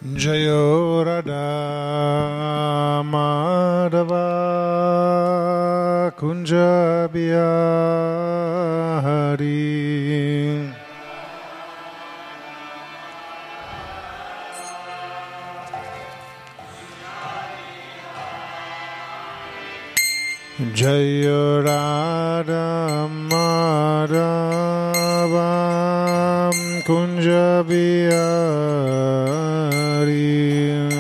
Jayo Radha Madhava Kunja Bihari. Jayo Radha Madhava Kunja Bihari.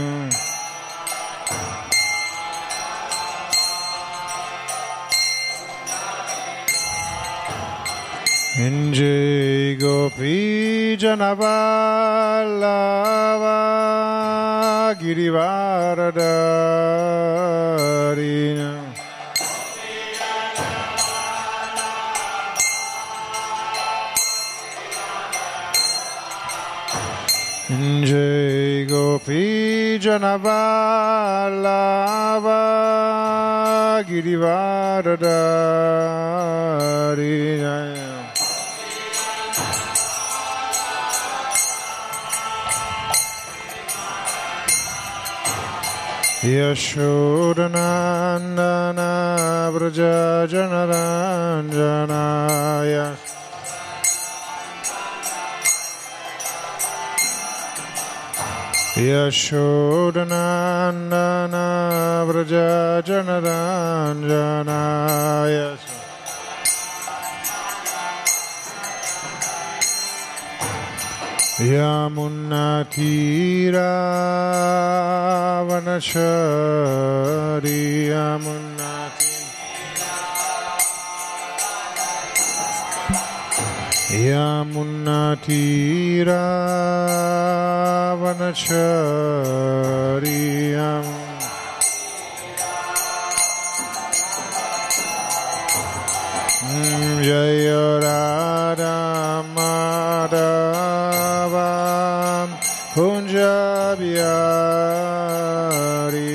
Injay Gopi Janavallava Girivaradari. Jai Gopi Janavallava Girivaradari. Yashodanandana Vraja Janaranjanaya. Yashodanandana Vraja Janaranjanaya. Yamunatira Vanachari. Yamunatira Vanachari. Jaya Radha Madhava Kunja Bihari.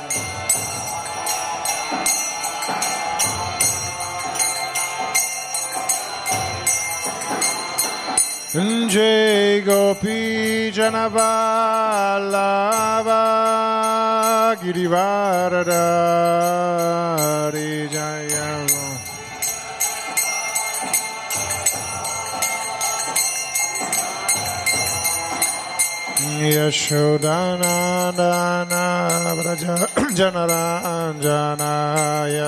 Jai Gopi Janavallava Girivaradari. Jaya Yashodanandana Vraja Janaranjanaya.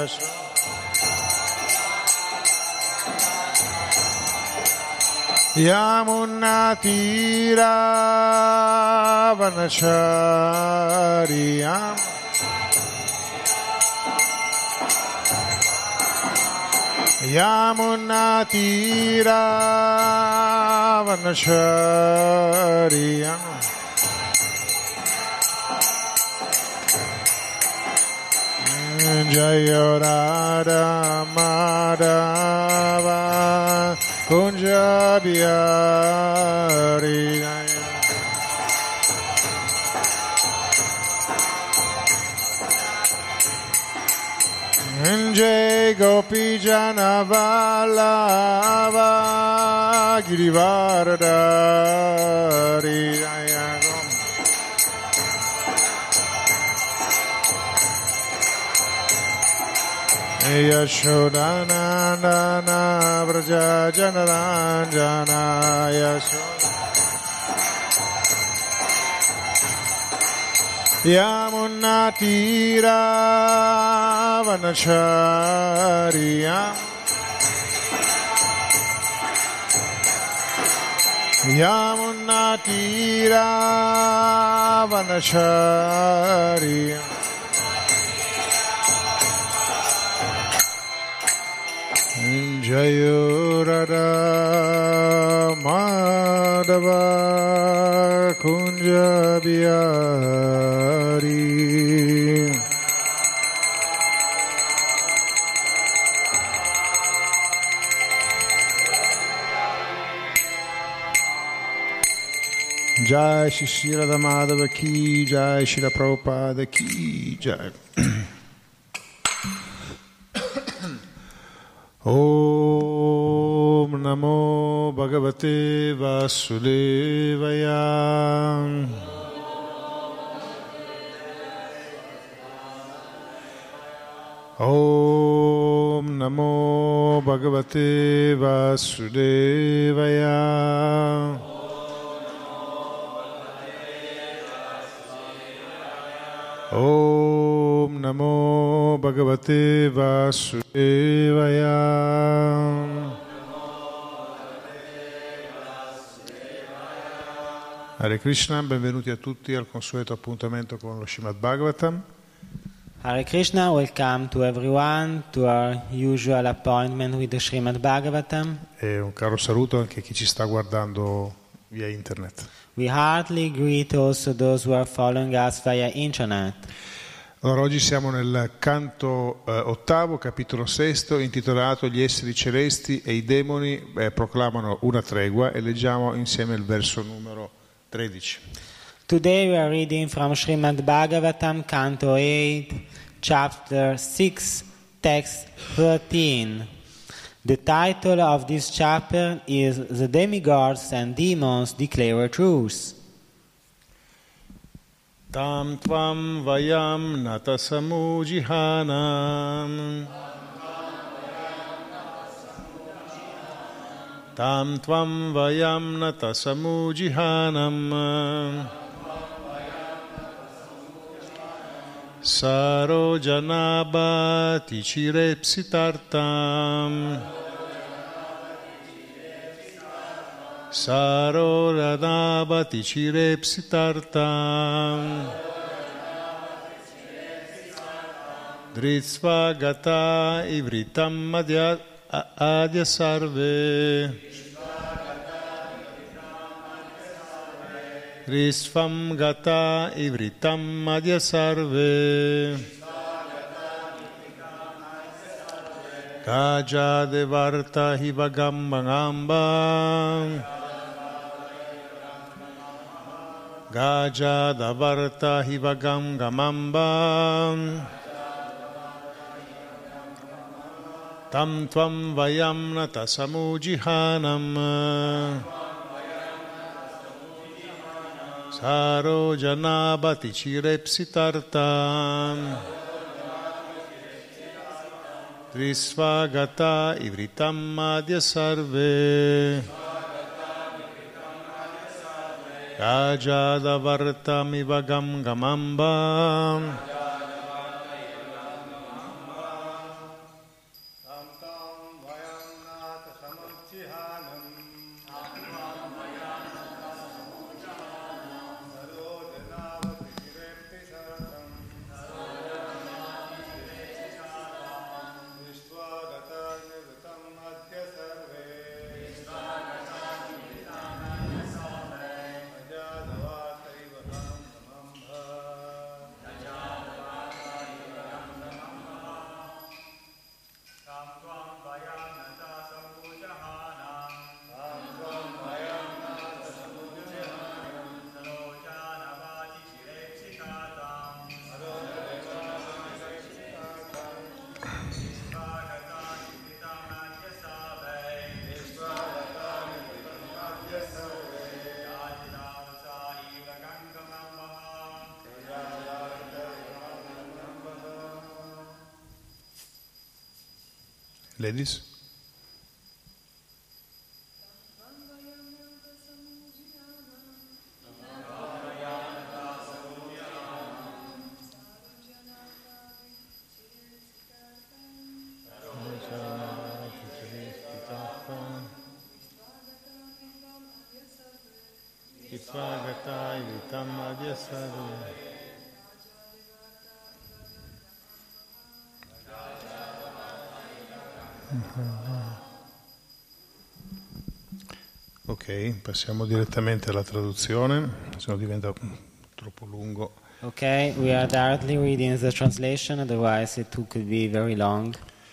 Yamunatira Vanachari. Yamunatira Vanachari. Jaya Radha Madhava Kunja Bihari. Jai Gopi Janavallava Girivaradari. Yashodanandana Vraja Janaranjanaya. Yamunatira Vanachari. Yamunatira Vanachari. Jayo Radha Madhava Kunja Bihari. Jai Shri Radha Madhava ki Jai, Srila Prabhupada ki Jai. Om Namo Bhagavate Vasudevaya. Om Namo Bhagavate Vasudevaya. Om Namo Bhagavate Vasudevaya. Hare Krishna, benvenuti a tutti al consueto appuntamento con lo Srimad Bhagavatam. Hare Krishna, welcome to everyone to our usual appointment with the Srimad Bhagavatam. E un caro saluto anche a chi ci sta guardando via internet. We heartily greet also those who are following us via internet. Allora, oggi siamo nel canto ottavo, capitolo sesto, intitolato Gli esseri celesti e i demoni proclamano una tregua, e leggiamo insieme il verso numero 13. Today we are reading from Srimad Bhagavatam, Canto 8, Chapter 6, Text 13. The title of this chapter is The Demigods and Demons Declare Truth. Tam tvam vayam natasamujihanam. Tam tvam vayam natasamujihanam. Saro janabati chirepsitartam. Saro janabati chirepsitartam. Dritsva gata ivritam adya sarve. Risvam gata ivritam adya sarve. Kaja devarta hivagam bangamba. Gaja davarta hivagam gamamba. Tam tvam vayam natasamujihanam. Saro janabati chirepsitartam. Trisvagata ivritam adya sarve. Gajadavartam ivagam gamamba. Ladies. Ok, passiamo direttamente alla traduzione, se no diventa troppo lungo. Okay, we are directly reading the translation, otherwise it could be very long.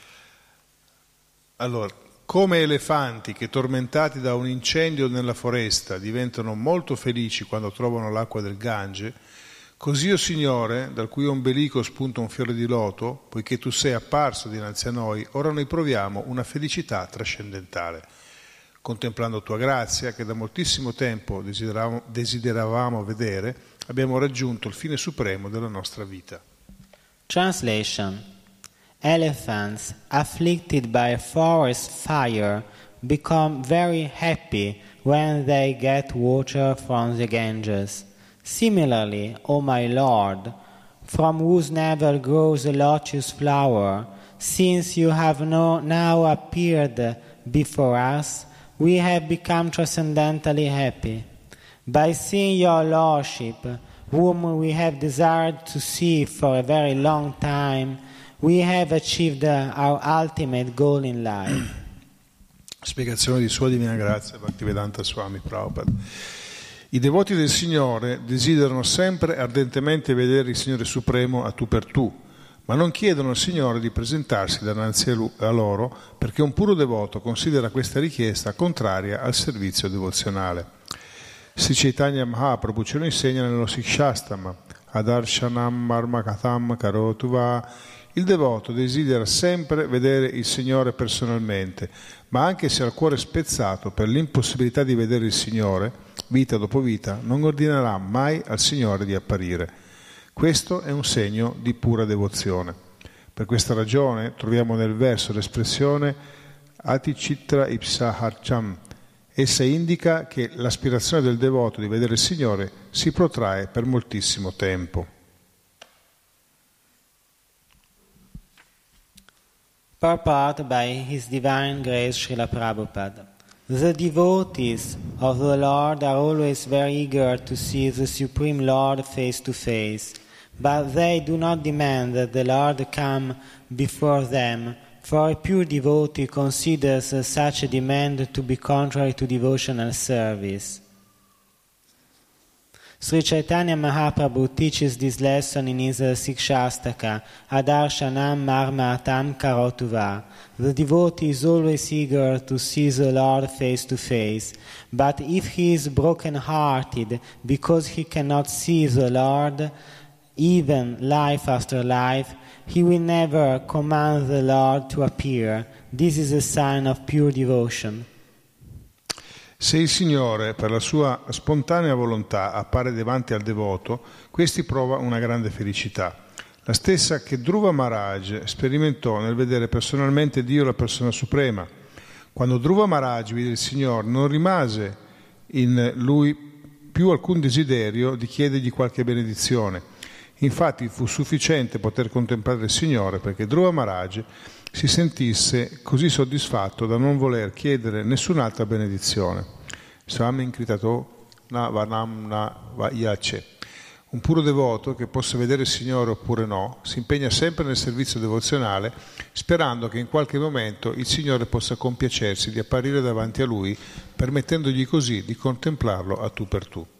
Allora, come elefanti che tormentati da un incendio nella foresta diventano molto felici quando trovano l'acqua del Gange, così, o Signore, dal cui ombelico spunta un fiore di loto, poiché tu sei apparso dinanzi a noi, ora noi proviamo una felicità trascendentale, contemplando tua grazia che da moltissimo tempo desideravamo vedere. Abbiamo raggiunto il fine supremo della nostra vita. Translation. Elephants afflicted by a forest fire become very happy when they get water from the Ganges. Similarly, O my Lord, from whose navel grows a lotus flower, since you have now appeared before us, we have become transcendently happy. By seeing your Lordship, whom we have desired to see for a very long time, we have achieved our ultimate goal in life. Spiegazione di Sua Divina Grazia, Bhaktivedanta Swami Prabhupada. I devoti del Signore desiderano sempre ardentemente vedere il Signore Supremo a tu per tu, ma non chiedono al Signore di presentarsi davanti a loro perché un puro devoto considera questa richiesta contraria al servizio devozionale. Sri Chaitanya Mahaprabhu ce lo insegna nello Sikshastama, Adarshanam Marmakatham Karotuva. Il devoto desidera sempre vedere il Signore personalmente, ma anche se ha il cuore spezzato per l'impossibilità di vedere il Signore, vita dopo vita, non ordinerà mai al Signore di apparire. Questo è un segno di pura devozione. Per questa ragione troviamo nel verso l'espressione Atichitra Ipsaharcham. Essa indica che l'aspirazione del devoto di vedere il Signore si protrae per moltissimo tempo. Purport by His Divine Grace Srila Prabhupada. The devotees of the Lord are always very eager to see the Supreme Lord face to face, but they do not demand that the Lord come before them, for a pure devotee considers such a demand to be contrary to devotional service. Sri Chaitanya Mahaprabhu teaches this lesson in his Sikshastaka, Adarshanam Marmatam Karotuva. The devotee is always eager to see the Lord face to face, but if he is broken-hearted because he cannot see the Lord, even life after life, he will never command the Lord to appear. This is a sign of pure devotion. Se il Signore, per la sua spontanea volontà, appare davanti al devoto, questi prova una grande felicità, la stessa che Dhruva Maharaj sperimentò nel vedere personalmente Dio, la persona suprema. Quando Dhruva Maharaj vide il Signore, non rimase in lui più alcun desiderio di chiedergli qualche benedizione. Infatti fu sufficiente poter contemplare il Signore perché Dhruva Maharaj si sentisse così soddisfatto da non voler chiedere nessun'altra benedizione. Swami Kritato na Varnam na Vayace. Un puro devoto che possa vedere il Signore oppure no, si impegna sempre nel servizio devozionale, sperando che in qualche momento il Signore possa compiacersi di apparire davanti a lui, permettendogli così di contemplarlo a tu per tu.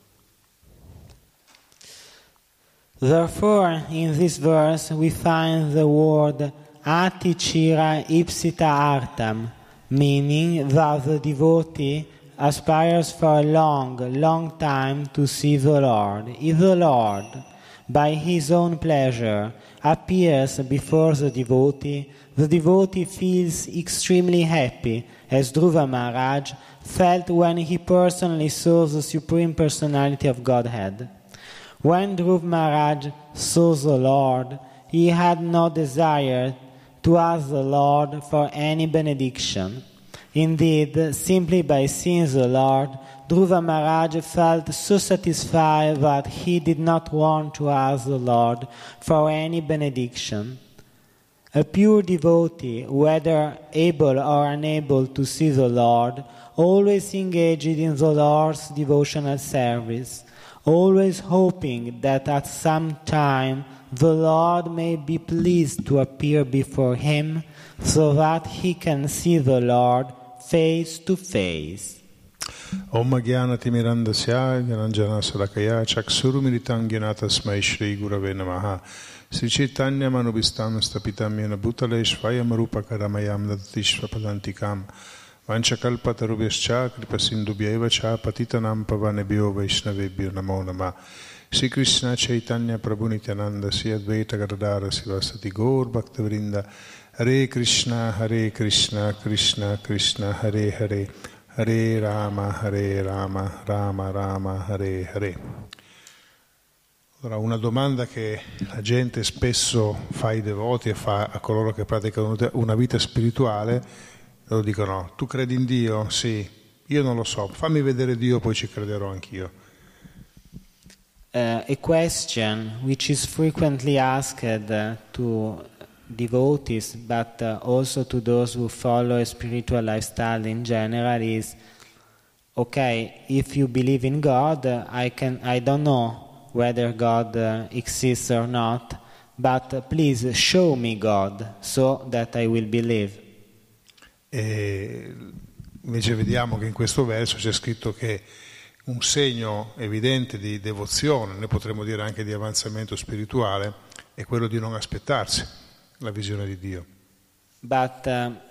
Therefore, in this verse we find the word Atichira Ipsita Artam, meaning that the devotee aspires for a long time to see the Lord. If the Lord, by his own pleasure, appears before the devotee feels extremely happy, as Dhruva Maharaj felt when he personally saw the Supreme Personality of Godhead. When Dhruva Maharaj saw the Lord, he had no desire to ask the Lord for any benediction. Indeed, simply by seeing the Lord, Dhruva Maharaj felt so satisfied that he did not want to ask the Lord for any benediction. A pure devotee, whether able or unable to see the Lord, always engaged in the Lord's devotional service, always hoping that at some time the Lord may be pleased to appear before him so that he can see the Lord face to face. Om Jnana Timirandasya Jnananjana Salakaya Chakshuru Militam Jnana Tasmai Shri Gurave Namaha Sri Chaitanya Manubhistam Stapitam Yena Bhutale Shvayam Rupa Karamayam Dadatishva Padantikam Vanchakalpatarubhyascha Kripasindubhyeva Cha Patitanam Pavanebhyo Vaishnavebhyo Namo Namah Sri Krishna Chaitanya Prabhu Nityananda Sri Advaita Gadadara Sivasati Gaur Bhaktavrinda Hare Krishna Krishna Krishna Hare Hare Hare Rama Rama Rama Hare Hare. Allora, una domanda che la gente spesso fa ai devoti e fa a coloro che praticano una vita spirituale, loro dicono: tu credi in Dio? Sì, io non lo so, fammi vedere Dio, poi ci crederò anch'io. A question which is frequently asked to devotees, but also to those who follow a spiritual lifestyle in general, is: okay, if you believe in God, I don't know whether God exists or not, but please show me God so that I will believe. E invece vediamo che in questo verso c'è scritto che un segno evidente di devozione, noi potremmo dire anche di avanzamento spirituale, è quello di non aspettarsi la visione di Dio. But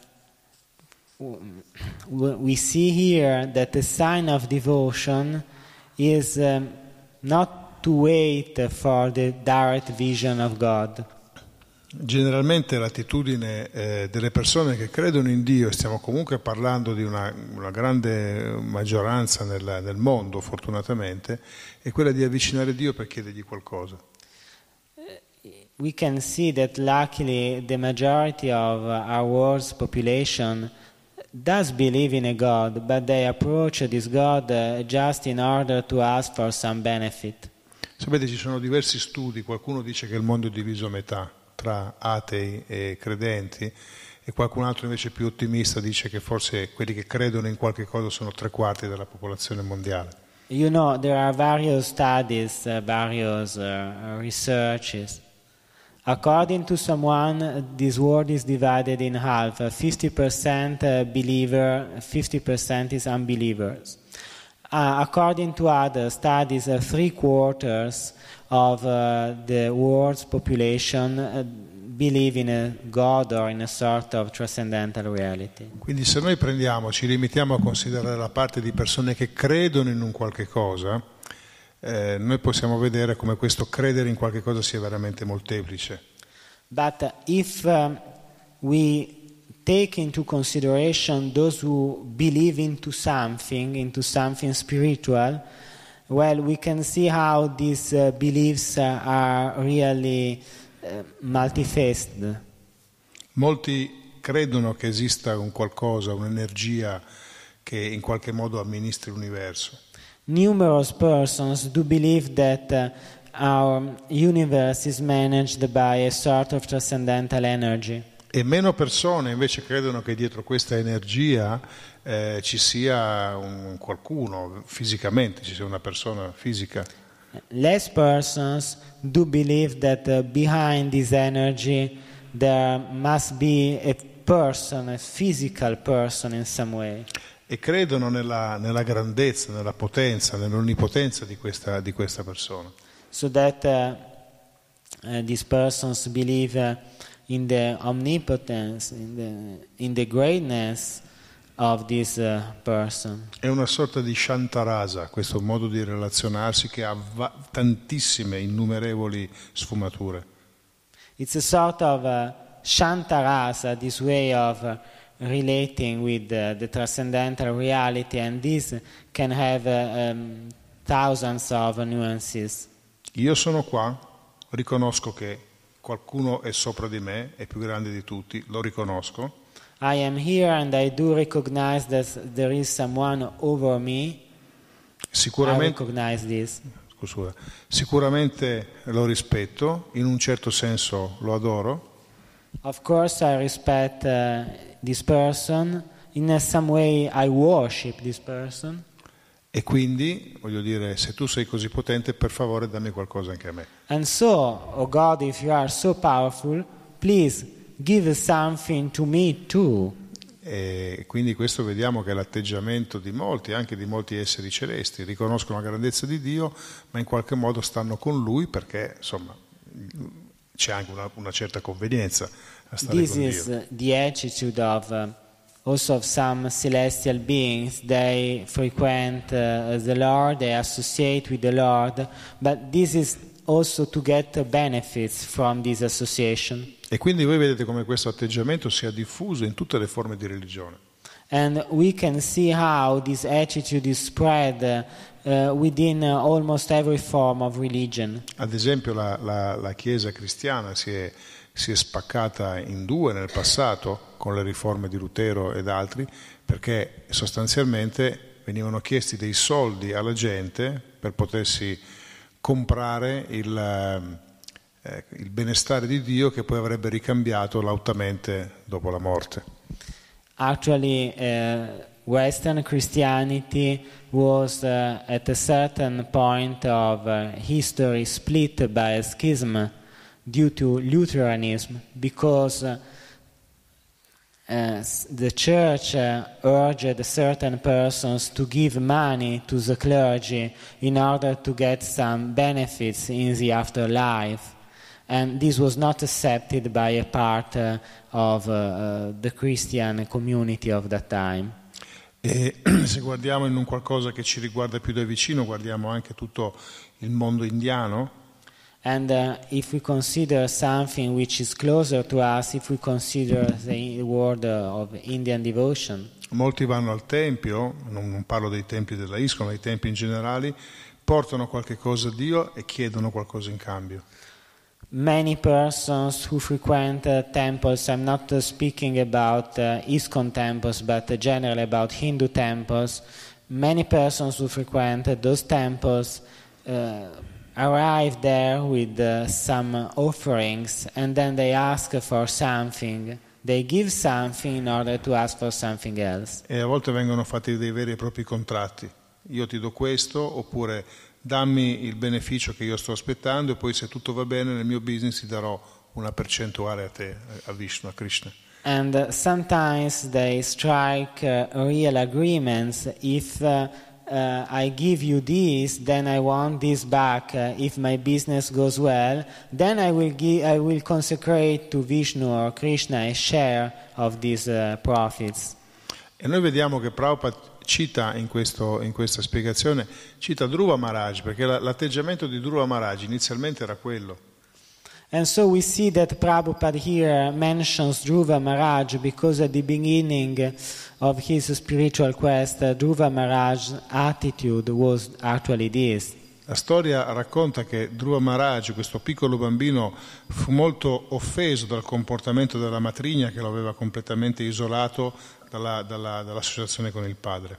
we see here that the sign of devotion is not to wait for the direct vision of God. Generalmente l'attitudine delle persone che credono in Dio, e stiamo comunque parlando di una grande maggioranza nel mondo, fortunatamente, è quella di avvicinare Dio per chiedergli qualcosa. We can see that luckily the majority of our world's population does believe in a God, but they approach this God just in order to ask for some benefit. Sapete, ci sono diversi studi, qualcuno dice che il mondo è diviso a metà, tra atei e credenti, e qualcun altro invece più ottimista dice che forse quelli che credono in qualche cosa sono 3/4 della popolazione mondiale. You know, there are various studies, various researches. According to someone, this world is divided in half, 50% believer, 50% is unbelievers. According to other studies, 3/4 of the world's population believe in a God or in a sort of transcendental reality. Quindi se noi ci limitiamo a considerare la parte di persone che credono in un qualche cosa, noi possiamo vedere come questo credere in qualche cosa sia veramente molteplice. But if we take into consideration those who believe into something spiritual, well, we can see how these beliefs are really multifaceted. Molti credono che esista un qualcosa, un'energia che in qualche modo amministri l'universo. Numerous persons do believe that our universe is managed by a sort of transcendental energy. E meno persone invece credono che dietro questa energia ci sia un qualcuno fisicamente, ci sia una persona fisica. Less persons do believe that behind this energy there must be a person, a physical person in some way. E credono nella grandezza, nella potenza, nell'onnipotenza di questa persona. So that these persons believe in the omnipotence, in the greatness of this person. È una sorta di Shantarasa, questo modo di relazionarsi che ha tantissime, innumerevoli sfumature. It's a sort of Shantarasa, this way of relating with the transcendental reality, and this can have thousands of nuances. Io sono qua, riconosco che qualcuno è sopra di me, è più grande di tutti, lo riconosco. I am here and I do recognize that there is someone over me. Sicuramente, I recognize this. Sicuramente lo rispetto, in un certo senso lo adoro. Of course I respect this person, in some way I worship this person. E quindi, voglio dire, se tu sei così potente, per favore dammi qualcosa anche a me. And so, oh God, if you are so powerful, please give something to me too. E quindi questo vediamo che è l'atteggiamento di molti, anche di molti esseri celesti, riconoscono la grandezza di Dio, ma in qualche modo stanno con Lui perché, insomma, c'è anche una certa convenienza a stare This con Dio. is the attitude of also of some celestial beings. They frequent the Lord, they associate with the Lord, but this is also to get benefits from this association. E quindi voi vedete come questo atteggiamento sia diffuso in tutte le forme di religione. And we can see how this attitude is spread within almost every form of religion. Ad esempio la Chiesa cristiana si è spaccata in due nel passato con le riforme di Lutero ed altri, perché sostanzialmente venivano chiesti dei soldi alla gente per potersi comprare il benestare di Dio, che poi avrebbe ricambiato lautamente dopo la morte. Actually, Western Christianity was at a certain point of history split by a schism due to Lutheranism, because the church urged certain persons to give money to the clergy in order to get some benefits in the afterlife. And this was not accepted by a part of the Christian community of that time. E se guardiamo in un qualcosa che ci riguarda più da vicino, guardiamo anche tutto il mondo indiano. And if we consider something which is closer to us, if we consider the world of Indian devotion, Molti vanno al tempio, non parlo dei templi della ISKCON, ma dei templi in generale, portano qualche cosa a Dio e chiedono qualcosa in cambio. many persons who frequent temples, I'm not speaking about ISKCON temples, but generally about Hindu temples, many persons who frequent those temples arrive there with some offerings, and then they ask for something. They give something in order to ask for something else. E a volte vengono fatti dei veri e propri contratti. Io ti do questo, oppure dammi il beneficio che io sto aspettando, e poi se tutto va bene nel mio business ti darò una percentuale a te, a Vishnu, a Krishna. And sometimes they strike real agreements. If I give you this, then I want this back. If my business goes well, then I will consecrate to Vishnu or Krishna a share of these profits. E noi vediamo che Prabhupada cita in questa spiegazione, cita Dhruva Maharaj, perché l'atteggiamento di Dhruva Maharaj inizialmente era quello. And so we see that Prabhupada here mentions Dhruva Maharaj because at the beginning of his spiritual quest, Dhruva Maharaj's attitude was actually this. La storia racconta che Dhruva Maharaj, questo piccolo bambino, fu molto offeso dal comportamento della matrigna, che lo aveva completamente isolato dall'associazione con il padre.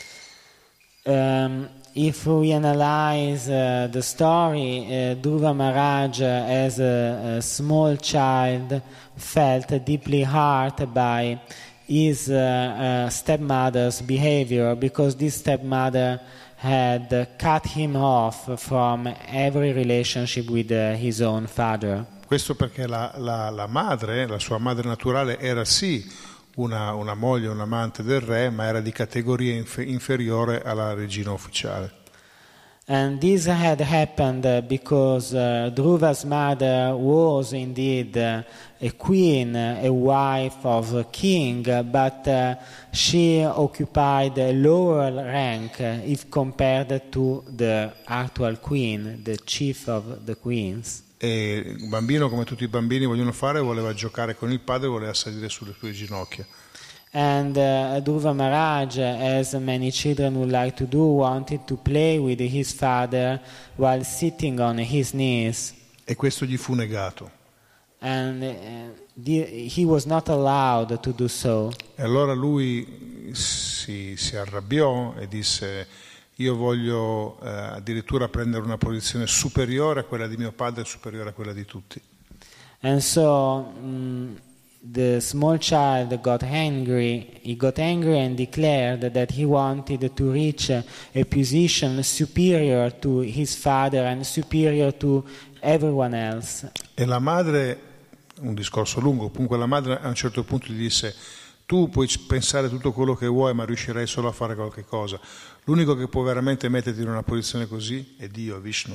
If we analyze the story, Dhruva Maharaj as a small child felt deeply hurt by his stepmother's behavior, because this stepmother had cut him off from every relationship with his own father. Questo perché la madre, la sua madre naturale, era sì una moglie, un amante del re, ma era di categoria inferiore alla regina ufficiale. And this had happened because Dhruva's mother was indeed a queen, a wife of a king, but she occupied a lower rank if compared to the actual queen, the chief of the queens. E il bambino, come tutti i bambini vogliono fare, voleva giocare con il padre, voleva salire sulle sue ginocchia. And Dhruva Maharaj, as many children would like to do, wanted to play with his father while sitting on his knees. E questo gli fu negato. And he was not allowed to do so. E allora lui si arrabbiò e disse: io voglio addirittura prendere una posizione superiore a quella di mio padre, superiore a quella di tutti. And so the small child got angry. He got angry and declared that he wanted to reach a position superior to his father and superior to everyone else. E la madre, un discorso lungo, comunque la madre a un certo punto gli disse: tu puoi pensare tutto quello che vuoi, ma riuscirai solo a fare qualche cosa. L'unico che può veramente metterti in una posizione così è Dio, Vishnu.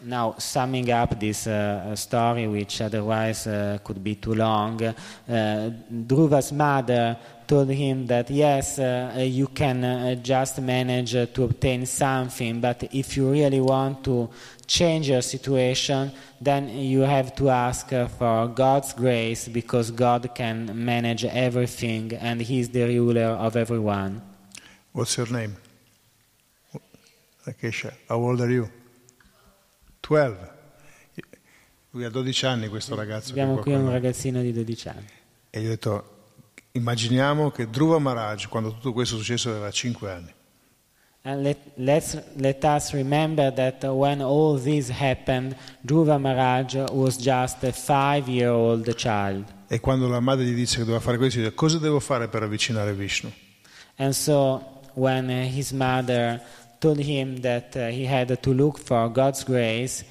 Now, summing up this story, which otherwise could be too long, Dhruva's mother told him that yes, you can just manage to obtain something, but if you really want to change your situation, then you have to ask for God's grace, because God can manage everything and He is the ruler of everyone. What's your name? Rakesha, how old are you? 12. Lui ha 12 anni, questo ragazzo. Abbiamo qui un ragazzino di 12 anni. E io ho detto, immaginiamo che Dhruva Maharaj, quando tutto questo è successo, aveva 5 anni. And let us remember that when all this happened, Dhruva Maharaj was just a 5-year-old child. E quando la madre gli dice che doveva fare questo, dice, cosa devo fare per avvicinare Vishnu? And so when his mother told him that he had to look for God's grace,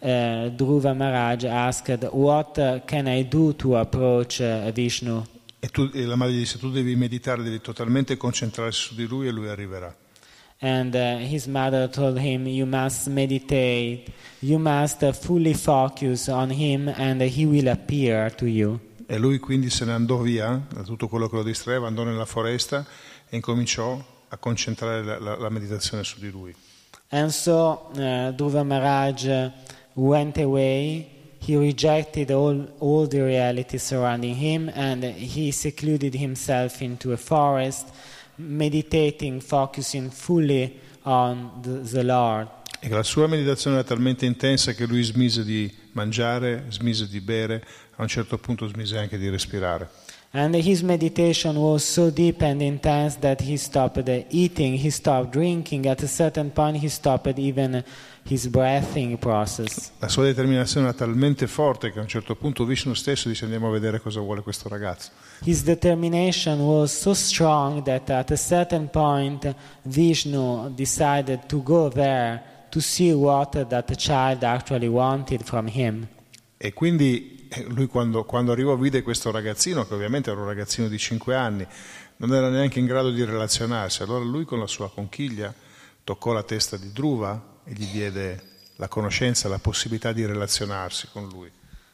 Dhruva Maharaj asked, what can I do to approach Vishnu? E la madre gli disse, tu devi meditare, devi totalmente concentrarsi su di lui e lui arriverà. And his mother told him, you must meditate, you must fully focus on him and he will appear to you. E lui quindi se ne andò via da tutto quello che lo distraeva, andò nella foresta e incominciò a concentrare la meditazione su di lui. And so Dhruva Maharaj went away. He rejected all the reality surrounding him, and he secluded himself into a forest, meditating, focusing fully on the Lord. E la sua meditazione era talmente intensa che lui smise di mangiare, smise di bere, a un certo punto smise anche di respirare. And his meditation was so deep and intense that he stopped eating, he stopped drinking. At a certain point he stopped even his breathing process. La sua determinazione era talmente forte che a un certo punto Vishnu stesso dice andiamo a vedere cosa vuole questo ragazzo. His determination was so strong that at a certain point Vishnu decided to go there to see what that child actually wanted from him. E quindi lui quando arrivò vide questo ragazzino, che ovviamente era un ragazzino di 5 anni, non era neanche in grado di relazionarsi. Allora lui con la sua conchiglia toccò la testa di Dhruva e gli diede la conoscenza, la possibilità di relazionarsi con lui.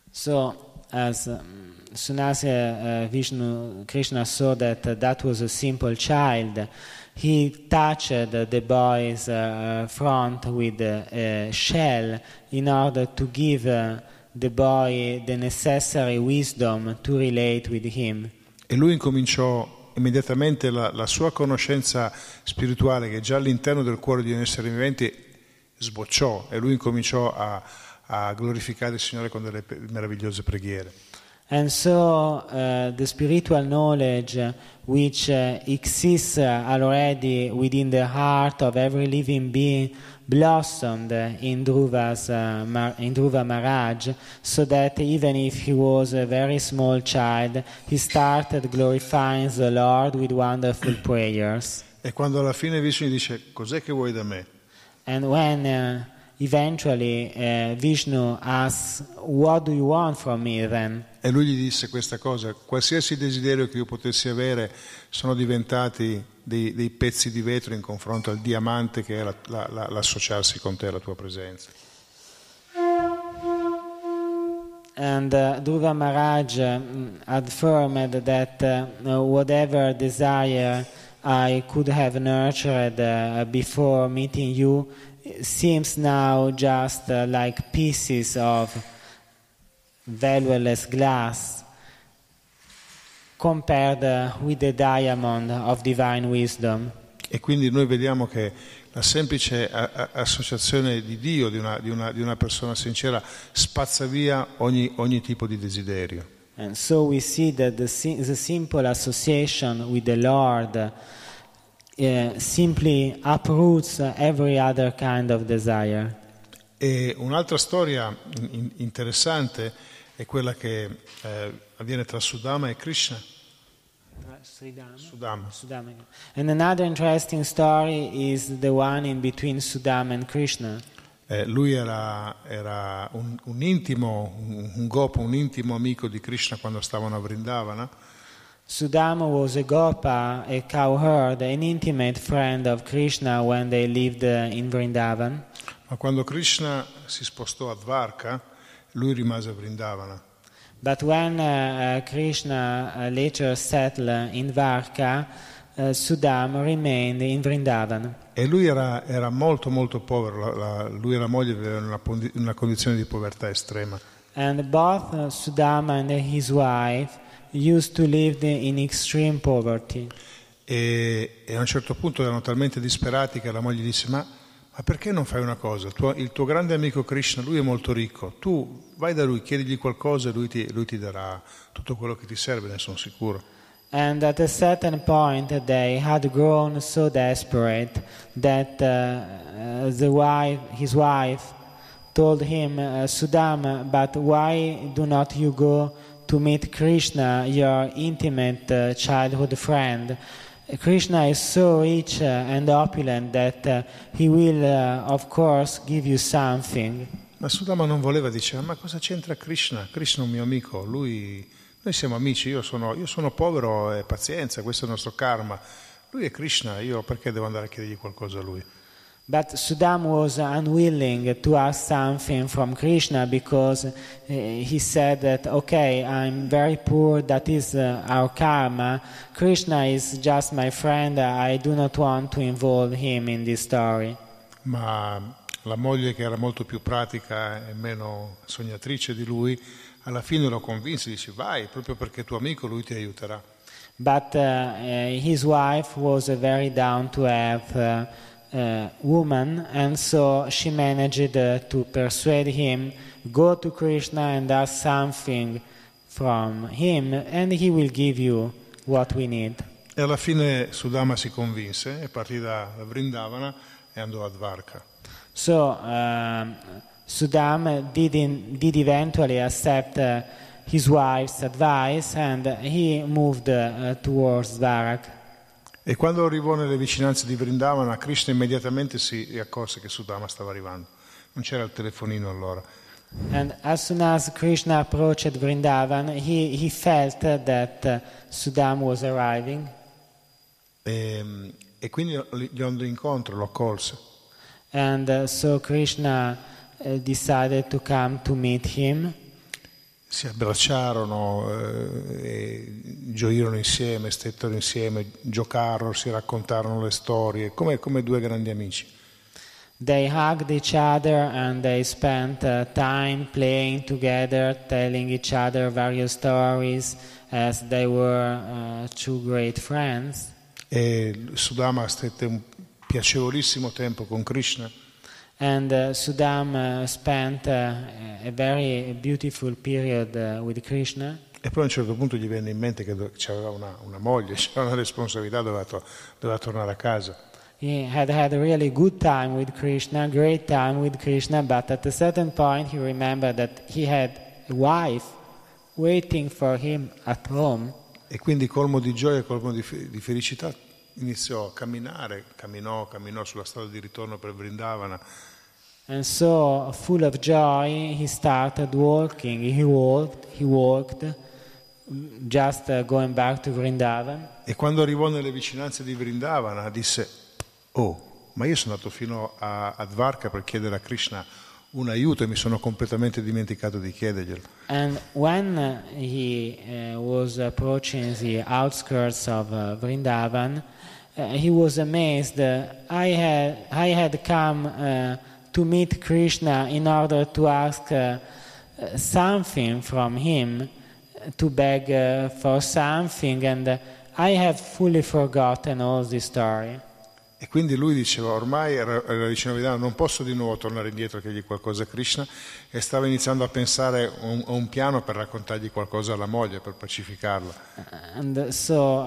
So as soon as Krishna saw that was a simple child, he touched the boy's front with a shell in order to give the boy the necessary wisdom to relate with him. E lui incominciò immediatamente la sua conoscenza spirituale, che già all'interno del cuore di un essere vivente sbocciò, e lui incominciò a glorificare il Signore con delle meravigliose preghiere. And so the spiritual knowledge which exists already within the heart of every living being blossomed in Dhruva Maharaj, so that even if he was a very small child, he started glorifying the Lord with wonderful prayers. E quando alla fine Vishnu dice, cos'è che vuoi da me? And when eventually Vishnu asks, what do you want from me then? E lui gli disse questa cosa, qualsiasi desiderio che io potessi avere sono diventati dei pezzi di vetro in confronto al diamante che è l'associarsi con te, la tua presenza. And Dhruva Maharaj affirmed that whatever desire I could have nurtured before meeting you seems now just like pieces of valueless glass compared with the diamond of divine wisdom. E quindi noi vediamo che la semplice associazione di Dio, di una persona sincera, spazza via ogni tipo di desiderio. And so we see that the simple association with the Lord simply uproots every other kind of desire. E un'altra storia interessante è quella che avviene tra Sudama e Krishna. Sudama. And another interesting story is the one in between Sudama and Krishna. Lui era un intimo, un gopa, un intimo amico di Krishna quando stavano a Vrindavana. Sudama was a gopa, a cowherd, an intimate friend of Krishna when they lived in Vrindavan. Ma quando Krishna si spostò a Dvarka, lui rimase a Vrindavana. But when Krishna later settled in Dvarka, Sudama remained in Vrindavan. E lui era molto molto povero, lui e la moglie avevano una condizione di povertà estrema. And both Sudama and his wife used to live in extreme poverty. E a un certo punto erano talmente disperati che la moglie disse: ma perché non fai una cosa? Il tuo grande amico Krishna, lui è molto ricco, tu vai da lui, chiedigli qualcosa e lui ti darà tutto quello che ti serve, ne sono sicuro. And at a certain point they had grown so desperate that his wife told him, Sudama, but why do not you go to meet Krishna, your intimate childhood friend? Krishna is so rich and opulent that he will, of course, give you something. Ma Sudama non voleva, diceva: ma cosa c'entra Krishna? Krishna è un mio amico, noi siamo amici, io sono povero e pazienza, questo è il nostro karma. Lui è Krishna, io perché devo andare a chiedergli qualcosa a lui? But Sudama was unwilling to ask something from Krishna because he said that, okay, I'm very poor, that is our karma. Krishna is just my friend, I do not want to involve him in this story. Ma la moglie, che era molto più pratica e meno sognatrice di lui, alla fine lo convinse, dice: vai, proprio perché è tuo amico, lui ti aiuterà. But his wife was a very down-to-earth woman, and so she managed to persuade him, go to Krishna and ask something from him and he will give you what we need. E alla fine Sudama si convinse e partì da Vrindavana e andò a Dvarka. So Sudama did eventually accept his wife's advice and he moved towards Dvaraka. E quando arrivò nelle vicinanze di Vrindavana, Krishna immediatamente si accorse che Sudama stava arrivando. Non c'era il telefonino allora. And as soon as Krishna approached Vrindavan, he felt that Sudama was arriving. E quindi gli andò incontro, lo accolse. And so Krishna decided to come to meet him. Si abbracciarono, gioirono insieme, stettero insieme, giocarono, si raccontarono le storie, come due grandi amici. They hugged each other and they spent time playing together, telling each other various stories as they were two great friends. E Sudama stette un piacevolissimo tempo con Krishna. And Sudama spent a very beautiful period with Krishna. E poi a un certo punto gli venne in mente che aveva una moglie, c'era una responsabilità, doveva tornare a casa. He had a really good time with Krishna, great time with Krishna, but at a certain point he remembered that he had a wife waiting for him at home. E quindi, colmo di gioia, colmo di felicità, iniziò a camminò sulla strada di ritorno per Vrindavana. And so, full of joy, he started walking. He walked, just going back to Vrindavan. E quando arrivò nelle vicinanze di Vrindavana disse: oh, ma io sono andato fino a Dvarka per chiedere a Krishna un aiuto e mi sono completamente dimenticato di chiederglielo. And when he was approaching the outskirts of Vrindavan, he was amazed. I had come to meet Krishna in order to ask something from him, to beg for something, and I have fully forgotten all this story. E quindi lui diceva: ormai era vicino a Vrindavana, non posso di nuovo tornare indietro e chiedergli qualcosa a Krishna, e stava iniziando a pensare a un piano per raccontargli qualcosa alla moglie, per pacificarla. And so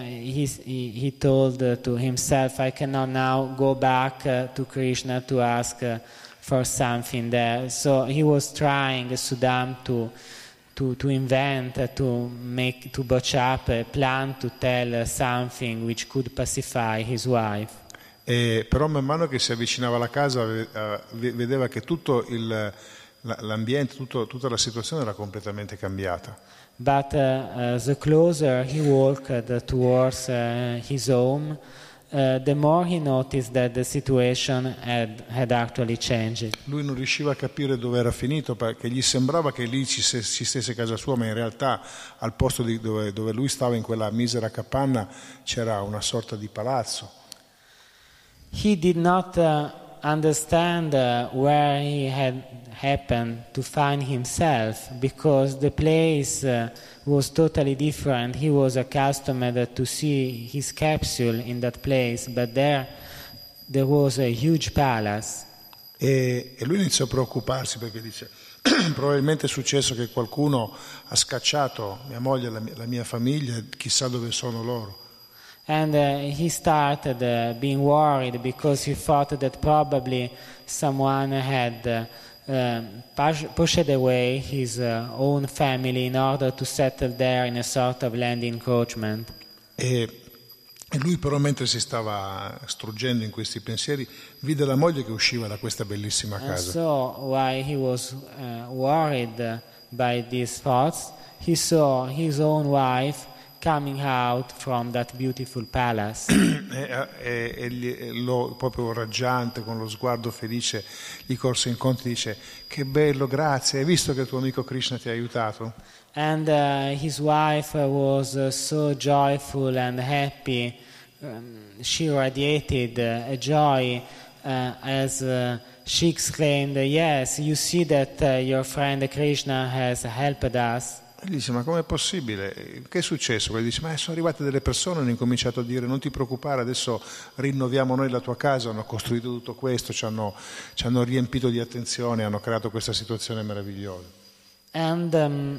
he told to himself, I cannot now go back to Krishna to ask for something there. So he was trying, Sudama, to invent, to botch up a plan to tell something which could pacify his wife. E però man mano che si avvicinava alla casa vedeva che tutto l'ambiente, tutta la situazione era completamente cambiata. But the closer he walked towards his home, the more he noticed that the situation had actually changed. Lui non riusciva a capire dove era finito, perché gli sembrava che lì ci stesse casa sua, ma in realtà al posto dove lui stava, in quella misera capanna, c'era una sorta di palazzo. He did not understand where he had happened to find himself, because the place was totally different. He was accustomed to see his capsule in that place, but there was a huge palace. E lui iniziò a preoccuparsi, perché dice: probabilmente è successo che qualcuno ha scacciato mia moglie e la mia famiglia, chissà dove sono loro. And he started being worried, because he thought that probably someone had pushed away his own family in order to settle there in a sort of land encroachment. E lui però, mentre si stava struggendo in questi pensieri, vide la moglie che usciva da questa bellissima And casa. so while he was worried by these thoughts, he saw his own wife coming out from that beautiful palace. Proprio raggiante, con lo sguardo felice, gli corse incontro e dice: che bello, grazie, hai visto che il tuo amico Krishna ti ha aiutato? And his wife was so joyful and happy. She radiated a joy as she exclaimed, "Yes, you see that your friend Krishna has helped us." E gli dice: ma com'è possibile? Che è successo? Poi dice: ma sono arrivate delle persone e hanno incominciato a dire: non ti preoccupare, adesso rinnoviamo noi la tua casa. Hanno costruito tutto questo, ci hanno riempito di attenzione, hanno creato questa situazione meravigliosa. And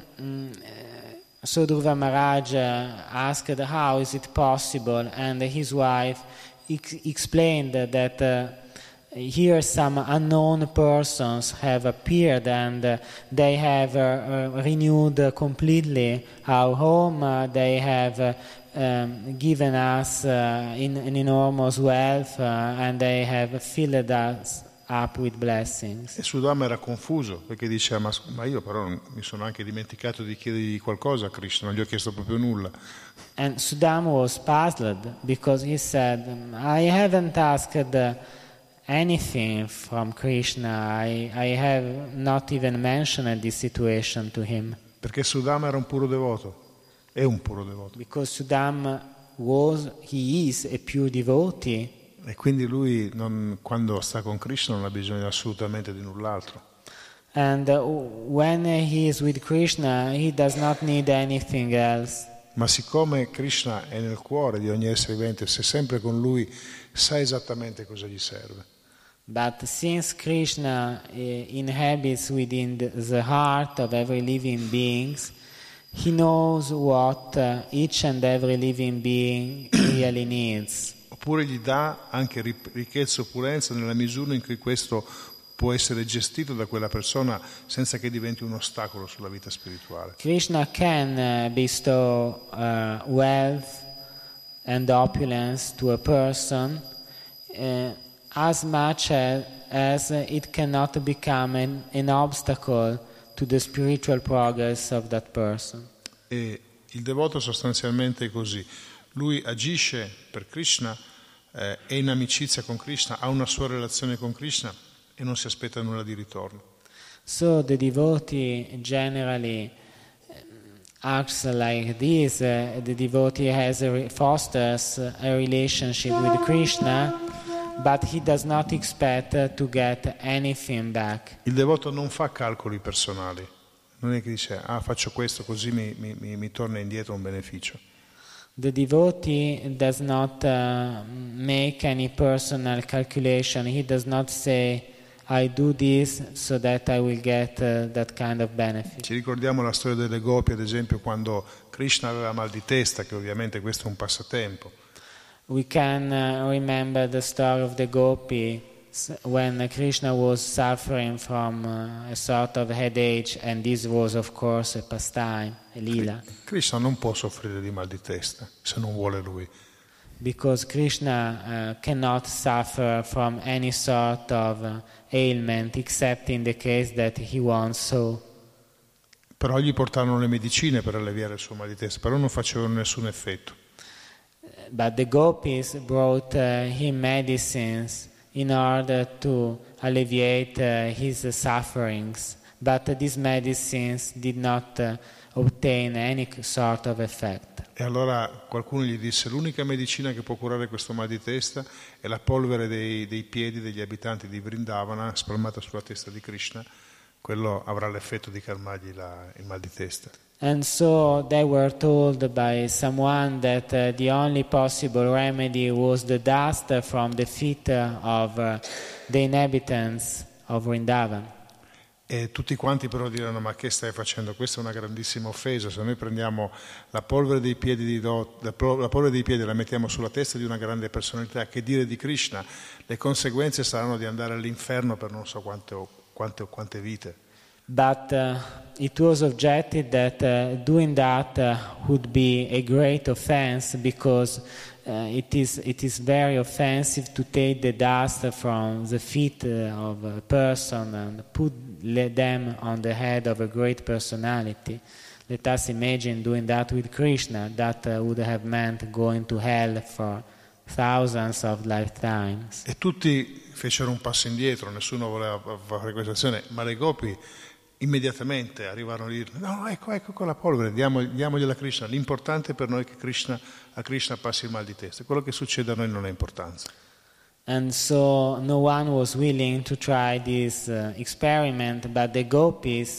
so Dhruva Maharaj asked, how is it possible? And his wife explained that here some unknown persons have appeared, and they have renewed completely our home. They have given us an enormous wealth, and they have filled us up with blessings. E Sudama era confuso, perché diceva: ma io però mi sono anche dimenticato di chiedergli qualcosa a Krishna, non gli ho chiesto proprio nulla. And Sudama was puzzled, because he said, I haven't asked anything from Krishna. I have not even mentioned this situation to him. Perché Sudama era un puro devoto, è un puro devoto. Because Sudama he is a pure devotee. E quindi lui, quando sta con Krishna, non ha bisogno assolutamente di null'altro. And when he is with Krishna, he does not need anything else. Ma siccome Krishna è nel cuore di ogni essere vivente, se è sempre con lui, sa esattamente cosa gli serve. But since Krishna inhabits within the heart of every living being, he knows what each and every living being really needs. Oppure gli dà anche ricchezza e opulenza nella misura in cui questo può essere gestito da quella persona senza che diventi un ostacolo sulla vita spirituale. Krishna can bestow wealth and opulence to a person as much as it cannot become an obstacle to the spiritual progress of that person. E il devoto sostanzialmente è così. Lui agisce per Krishna, è in amicizia con Krishna, ha una sua relazione con Krishna e non si aspetta nulla di ritorno. So the devotee generally acts like this. The devotee fosters a relationship with Krishna, but he does not expect to get anything back. Il devoto non fa calcoli personali, non è che dice: faccio questo così mi torna indietro un beneficio. The devotee does not make any personal calculation. He does not say, I do this so that I will get that kind of benefit. Ci ricordiamo la storia delle gopi, ad esempio, quando Krishna aveva mal di testa, che ovviamente questo è un passatempo. We can remember the story of the gopi when Krishna was suffering from a sort of headache, and this was of course a pastime, a lila. Krishna non può soffrire di mal di testa se non vuole lui. Because Krishna cannot suffer from any sort of ailment except in the case that he wants so. Però gli portarono le medicine per alleviare il suo mal di testa, però non facevano nessun effetto. but the gopis brought him medicines in order to alleviate his sufferings, but these medicines did not obtain any sort of effect. E allora qualcuno gli disse: l'unica medicina che può curare questo mal di testa è la polvere dei piedi degli abitanti di Vrindavana spalmata sulla testa di Krishna, quello avrà l'effetto di calmargli il mal di testa. And so they were told by someone that the only possible remedy was the dust from the feet of the inhabitants of Vrindavan. E tutti quanti però diranno: ma che stai facendo? Questa è una grandissima offesa. Se noi prendiamo la polvere dei piedi la polvere dei piedi e la mettiamo sulla testa di una grande personalità, che dire di Krishna? Le conseguenze saranno di andare all'inferno per non so quante vite. But it was objected that doing that would be a great offense, because it is very offensive to take the dust from the feet of a person and put them on the head of a great personality. Let us imagine doing that with Krishna. That would have meant going to hell for thousands of lifetimes. E tutti fecero un passo indietro, nessuno voleva fare questa azione, ma le gopi immediatamente arrivarono a dire: no, ecco quella polvere, diamogliela a Krishna. L'importante per noi è che a Krishna passi il mal di testa. Quello che succede a noi non ha importanza. And so no one was willing to try this experiment, but the gopis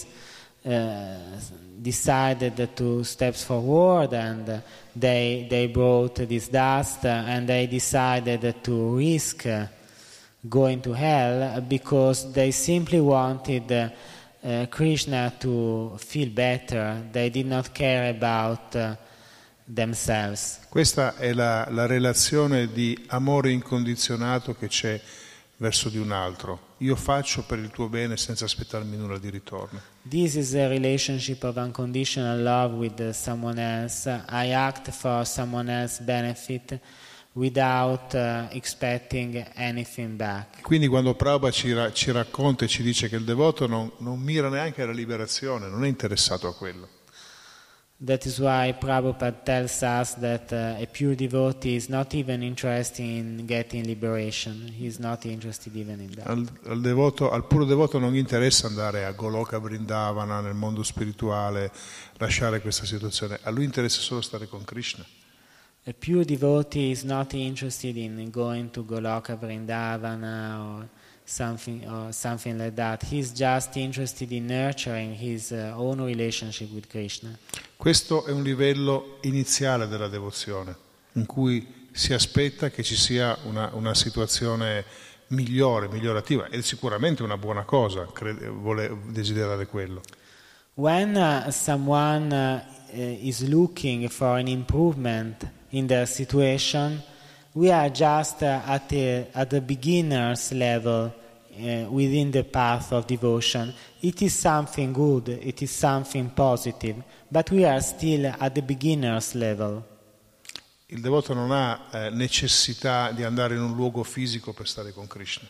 decided to step forward, and they brought this dust, and they decided to risk going to hell because they simply wanted Krishna to feel better. They did not care about themselves. Questa è la relazione di amore incondizionato che c'è verso di un altro. Io faccio per il tuo bene senza aspettarmi nulla di ritorno. This is a relationship of unconditional love with someone else. I act for someone else's benefit without expecting anything back. Quindi quando Prabhupada ci racconta e ci dice che il devoto non mira neanche alla liberazione, non è interessato a quello. That is why Prabhupada tells us that a pure devotee is not even interested in getting liberation. He is not interested even in that. Al puro devoto non gli interessa andare a Goloka Vrindavana, nel mondo spirituale, lasciare questa situazione. A lui interessa solo stare con Krishna. A pure devotee is not interested in going to Goloka Vrindavana or something like that. He's just interested in nurturing his own relationship with Krishna. Questo è un livello iniziale della devozione, in cui si aspetta che ci sia una situazione migliorativa, ed è sicuramente una buona cosa desiderare quello. When someone is looking for an improvement in their situation, we are just at the beginner's level within the path of devotion. It is something good, it is something positive, but we are still at the beginner's level. Il devoto non ha necessità di andare in un luogo fisico per stare con Krishna.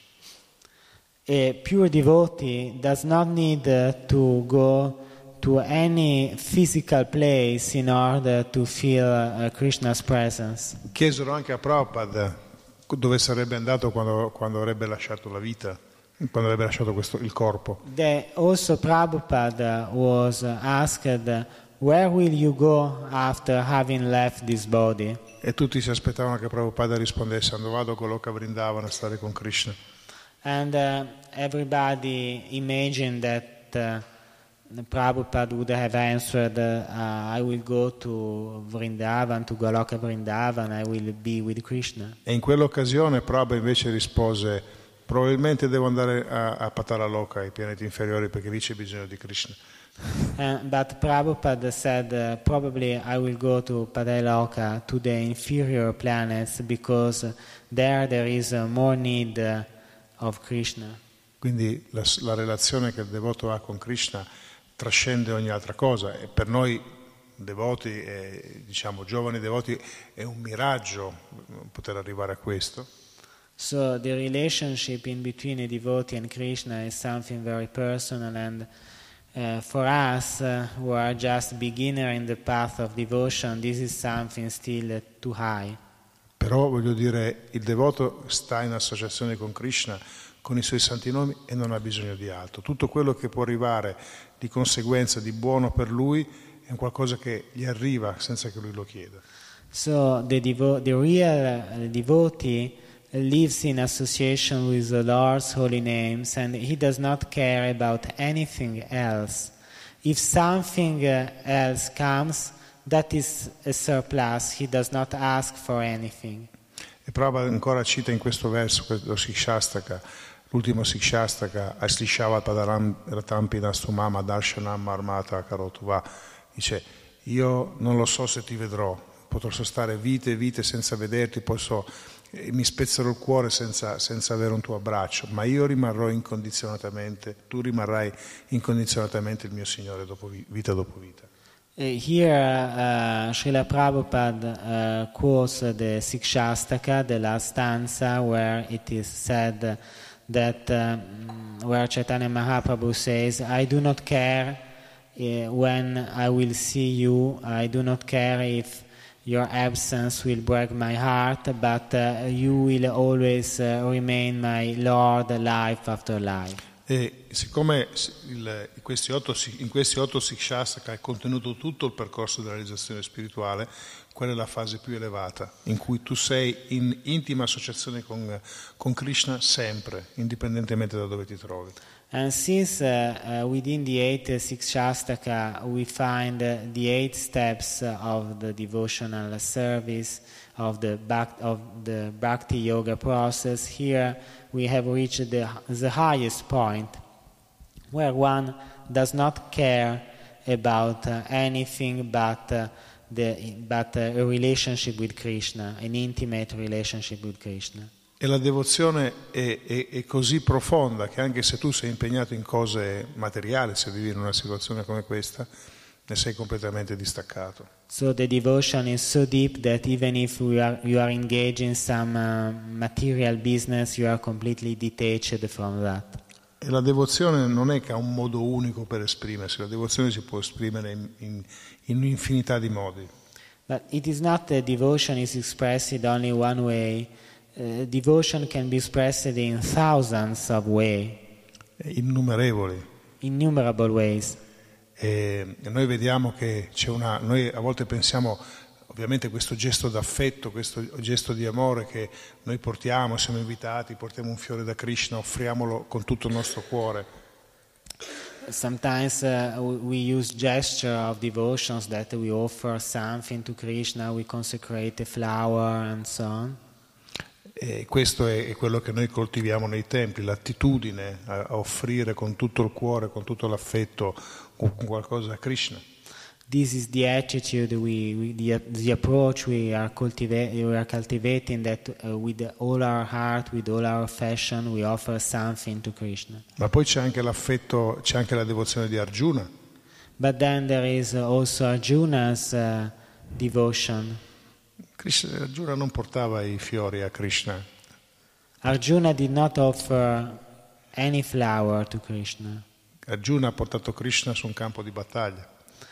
A pure devotee does not need to go to any physical place in order to feel Krishna's presence. Chiesero anche a Prabhupada dove sarebbe andato quando avrebbe lasciato la vita, quando avrebbe lasciato il corpo. Also Prabhupada was asked, where will you go after having left this body? E tutti si aspettavano che Prabhupada rispondesse: quando vado a Goloka Vrindavana a stare con Krishna. And everybody imagined that Prabhupada would have answered, I will go to Vrindavan, to Goloka Vrindavan, I will be with Krishna. E in quell'occasione Prabhupada invece rispose: probabilmente devo andare a Patalaloka, ai pianeti inferiori, perché lì c'è bisogno di Krishna. But Prabhupada said, probably I will go to Pataloka, to the inferior planets, because there is more need of Krishna. Quindi la relazione che il devoto ha con Krishna trascende ogni altra cosa, e per noi devoti, diciamo giovani devoti, è un miraggio poter arrivare a questo. So the relationship in between a devotee and Krishna is something very personal, and for us who are just beginner in the path of devotion, this is something still too high. Però voglio dire, il devoto sta in associazione con Krishna, con i suoi santi nomi, e non ha bisogno di altro. Tutto quello che può arrivare di conseguenza di buono per lui è un qualcosa che gli arriva senza che lui lo chieda. So the real devotee lives in association with the Lord's holy names, and he does not care about anything else. If something else comes, that is a surplus. He does not ask for anything. E Prabhupada ancora cita in questo verso, lo Sikshastaka, l'ultimo Sikshastaka, Aslishava Padaram Ratampi Nastumama Darshanam Marmata Karotuva, dice: io non lo so se ti vedrò, potrò stare vite e vite senza vederti, mi spezzerò il cuore senza avere un tuo abbraccio, ma io rimarrò incondizionatamente, tu rimarrai incondizionatamente il mio Signore vita dopo vita. Here Srila Prabhupada quotes the Sikshastaka, the last stanza, where it is said that where Chaitanya Mahaprabhu says, I do not care when I will see you, I do not care if your absence will break my heart, but you will always remain my Lord life after life. E siccome in questi 8 Sikshastaka è contenuto tutto il percorso della realizzazione spirituale, quella è la fase più elevata, in cui tu sei in intima associazione con Krishna sempre, indipendentemente da dove ti trovi. And since within the 8 Sikshastaka we find the 8 steps of the devotional service, of the Bhakti Yoga process, here we have reached the highest point, where one does not care about anything but a relationship with Krishna, an intimate relationship with Krishna. E la devozione è così profonda che anche se tu sei impegnato in cose materiali, se vivi in una situazione come questa, ne sei completamente distaccato. So the devotion is so deep that even if you are engaged in some material business, you are completely detached from that. E la devozione non è che ha un modo unico per esprimersi, la devozione si può esprimere in un'infinità di modi. But it is not that devotion is expressed only one way. Devotion can be expressed in thousands of ways. Innumerevoli. Innumerable ways. E noi vediamo che noi a volte pensiamo, ovviamente, questo gesto d'affetto, questo gesto di amore che noi portiamo, siamo invitati, portiamo un fiore da Krishna, offriamolo con tutto il nostro cuore. Sometimes we use gesture of devotions that we offer something to Krishna, we consecrate a flower and so on. E questo è quello che noi coltiviamo nei templi, l'attitudine a offrire con tutto il cuore, con tutto l'affetto, con qualcosa a Krishna. This is the attitude, the approach we are cultivating, that with all our heart, with all our affection, we offer something to Krishna. Ma poi c'è anche l'affetto, c'è anche la devozione di Arjuna. But then there is also Arjuna's devotion. Arjuna non portava i fiori a Krishna. Arjuna did not offer any flower to Krishna. Arjuna ha portato Krishna su un campo di battaglia.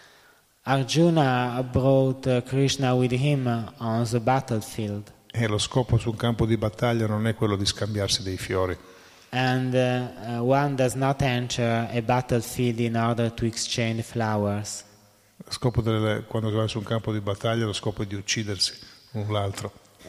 Arjuna brought Krishna with him on the battlefield. E lo scopo su un campo di battaglia non è quello di scambiarsi dei fiori. And one does not enter a battlefield in order to exchange flowers. Lo scopo quando vai su un campo di battaglia, lo scopo è di uccidersi l'un l'altro.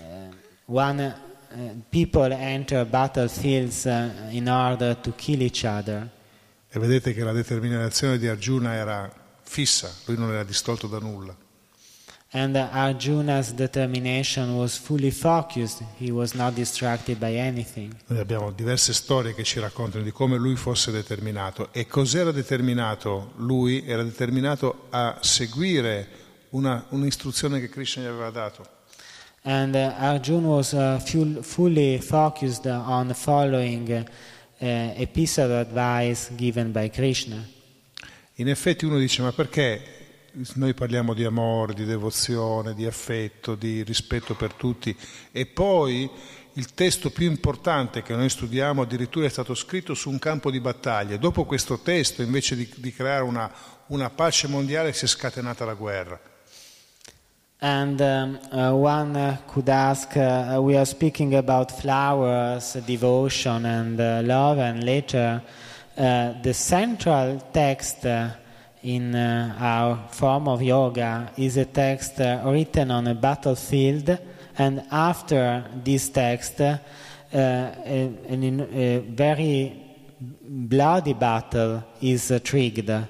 People enter battlefields in order to kill each other. E vedete che la determinazione di Arjuna era fissa, lui non era distolto da nulla. And Arjuna's determination was fully focused, he was not distracted by anything. Noi abbiamo diverse storie che ci raccontano di come lui fosse determinato. E cos'era determinato? Lui era determinato a seguire un'istruzione che Krishna gli aveva dato. And Arjuna was fully focused on following a piece of advice given by Krishna. In effetti uno dice: ma perché noi parliamo di amore, di devozione, di affetto, di rispetto per tutti, e poi il testo più importante che noi studiamo addirittura è stato scritto su un campo di battaglia. Dopo questo testo, invece di creare una pace mondiale, si è scatenata la guerra. And one could ask, we are speaking about flowers, devotion and love, and later the central text in our form of yoga is a text written on a battlefield, and after this text a very bloody battle is triggered.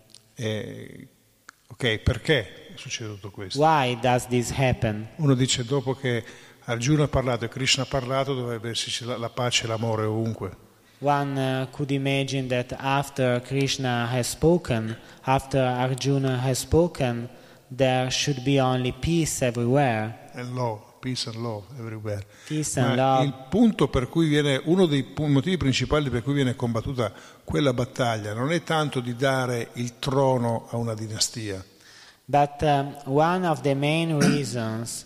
Ok, perché succede tutto questo? Why does this happen? Uno dice, dopo che Arjuna ha parlato e Krishna ha parlato, dovrebbe esserci la pace e l'amore ovunque. One could imagine that after Krishna has spoken, after Arjuna has spoken, there should be only peace everywhere. And love, peace and love everywhere. Peace and Ma love. il punto per cui viene, uno dei motivi principali per cui viene combattuta quella battaglia non è tanto di dare il trono a una dinastia. But one of the main reasons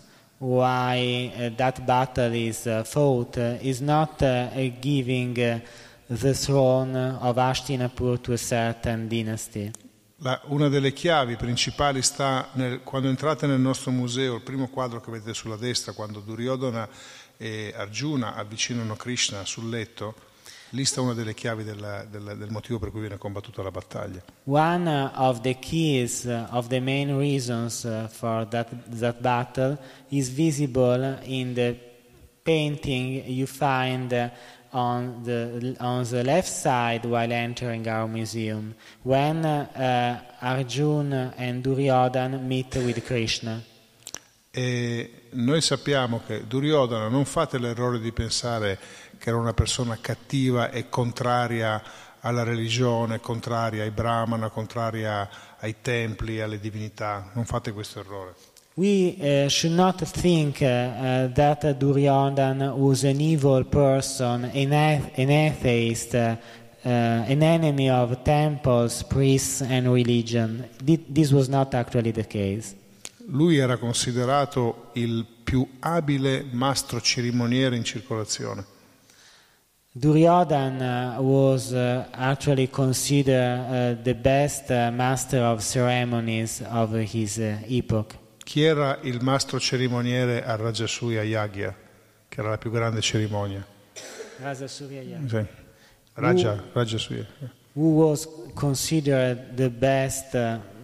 why that battle is fought is not giving the throne of Hastinapur to a certain dynasty. Una delle chiavi principali sta quando entrate nel nostro museo, il primo quadro che vedete sulla destra, quando Duryodhana e Arjuna avvicinano Krishna sul letto, lì sta una delle chiavi del motivo per cui viene combattuta la battaglia. One of the keys, of the main reasons for that battle is visible in the painting you find on the left side while entering our museum, when Arjuna and Duryodhana meet with Krishna. E noi sappiamo che Duryodhana, non fate l'errore di pensare che era una persona cattiva e contraria alla religione, contraria ai brahmana, contraria ai templi, alle divinità. Non fate questo errore. We should not think that Duryodhana was an evil person, an atheist, an enemy of temples, priests and religion. This was not actually the case. Lui era considerato il più abile mastro cerimoniere in circolazione. Duryodhana was actually considered the best master of ceremonies of his epoch. Chi era il mastro cerimoniere al Rajasuya Yagya, che era la più grande cerimonia? Rajasuya Yagya. Sì. Rajasuya. Who was considered the best?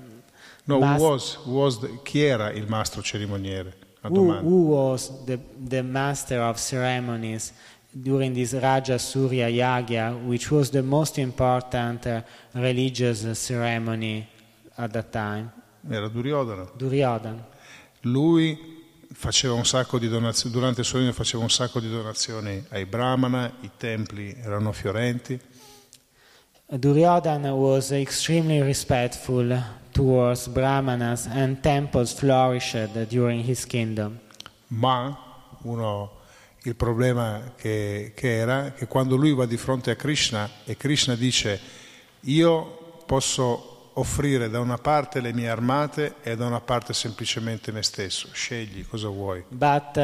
Chi era il mastro cerimoniere? Who was the master of ceremonies during this Raja Surya Yagya, which was the most important religious ceremony at that time? Era Duryodhana. Duryodhana. Lui faceva un sacco di donazioni, durante il suo regno faceva un sacco di donazioni ai brahmana, i templi erano fiorenti. Duryodhana was extremely respectful towards brahmanas and temples flourished during his kingdom. Ma il problema che era che quando lui va di fronte a Krishna e Krishna dice: io posso offrire da una parte le mie armate e da una parte semplicemente me stesso, scegli cosa vuoi. But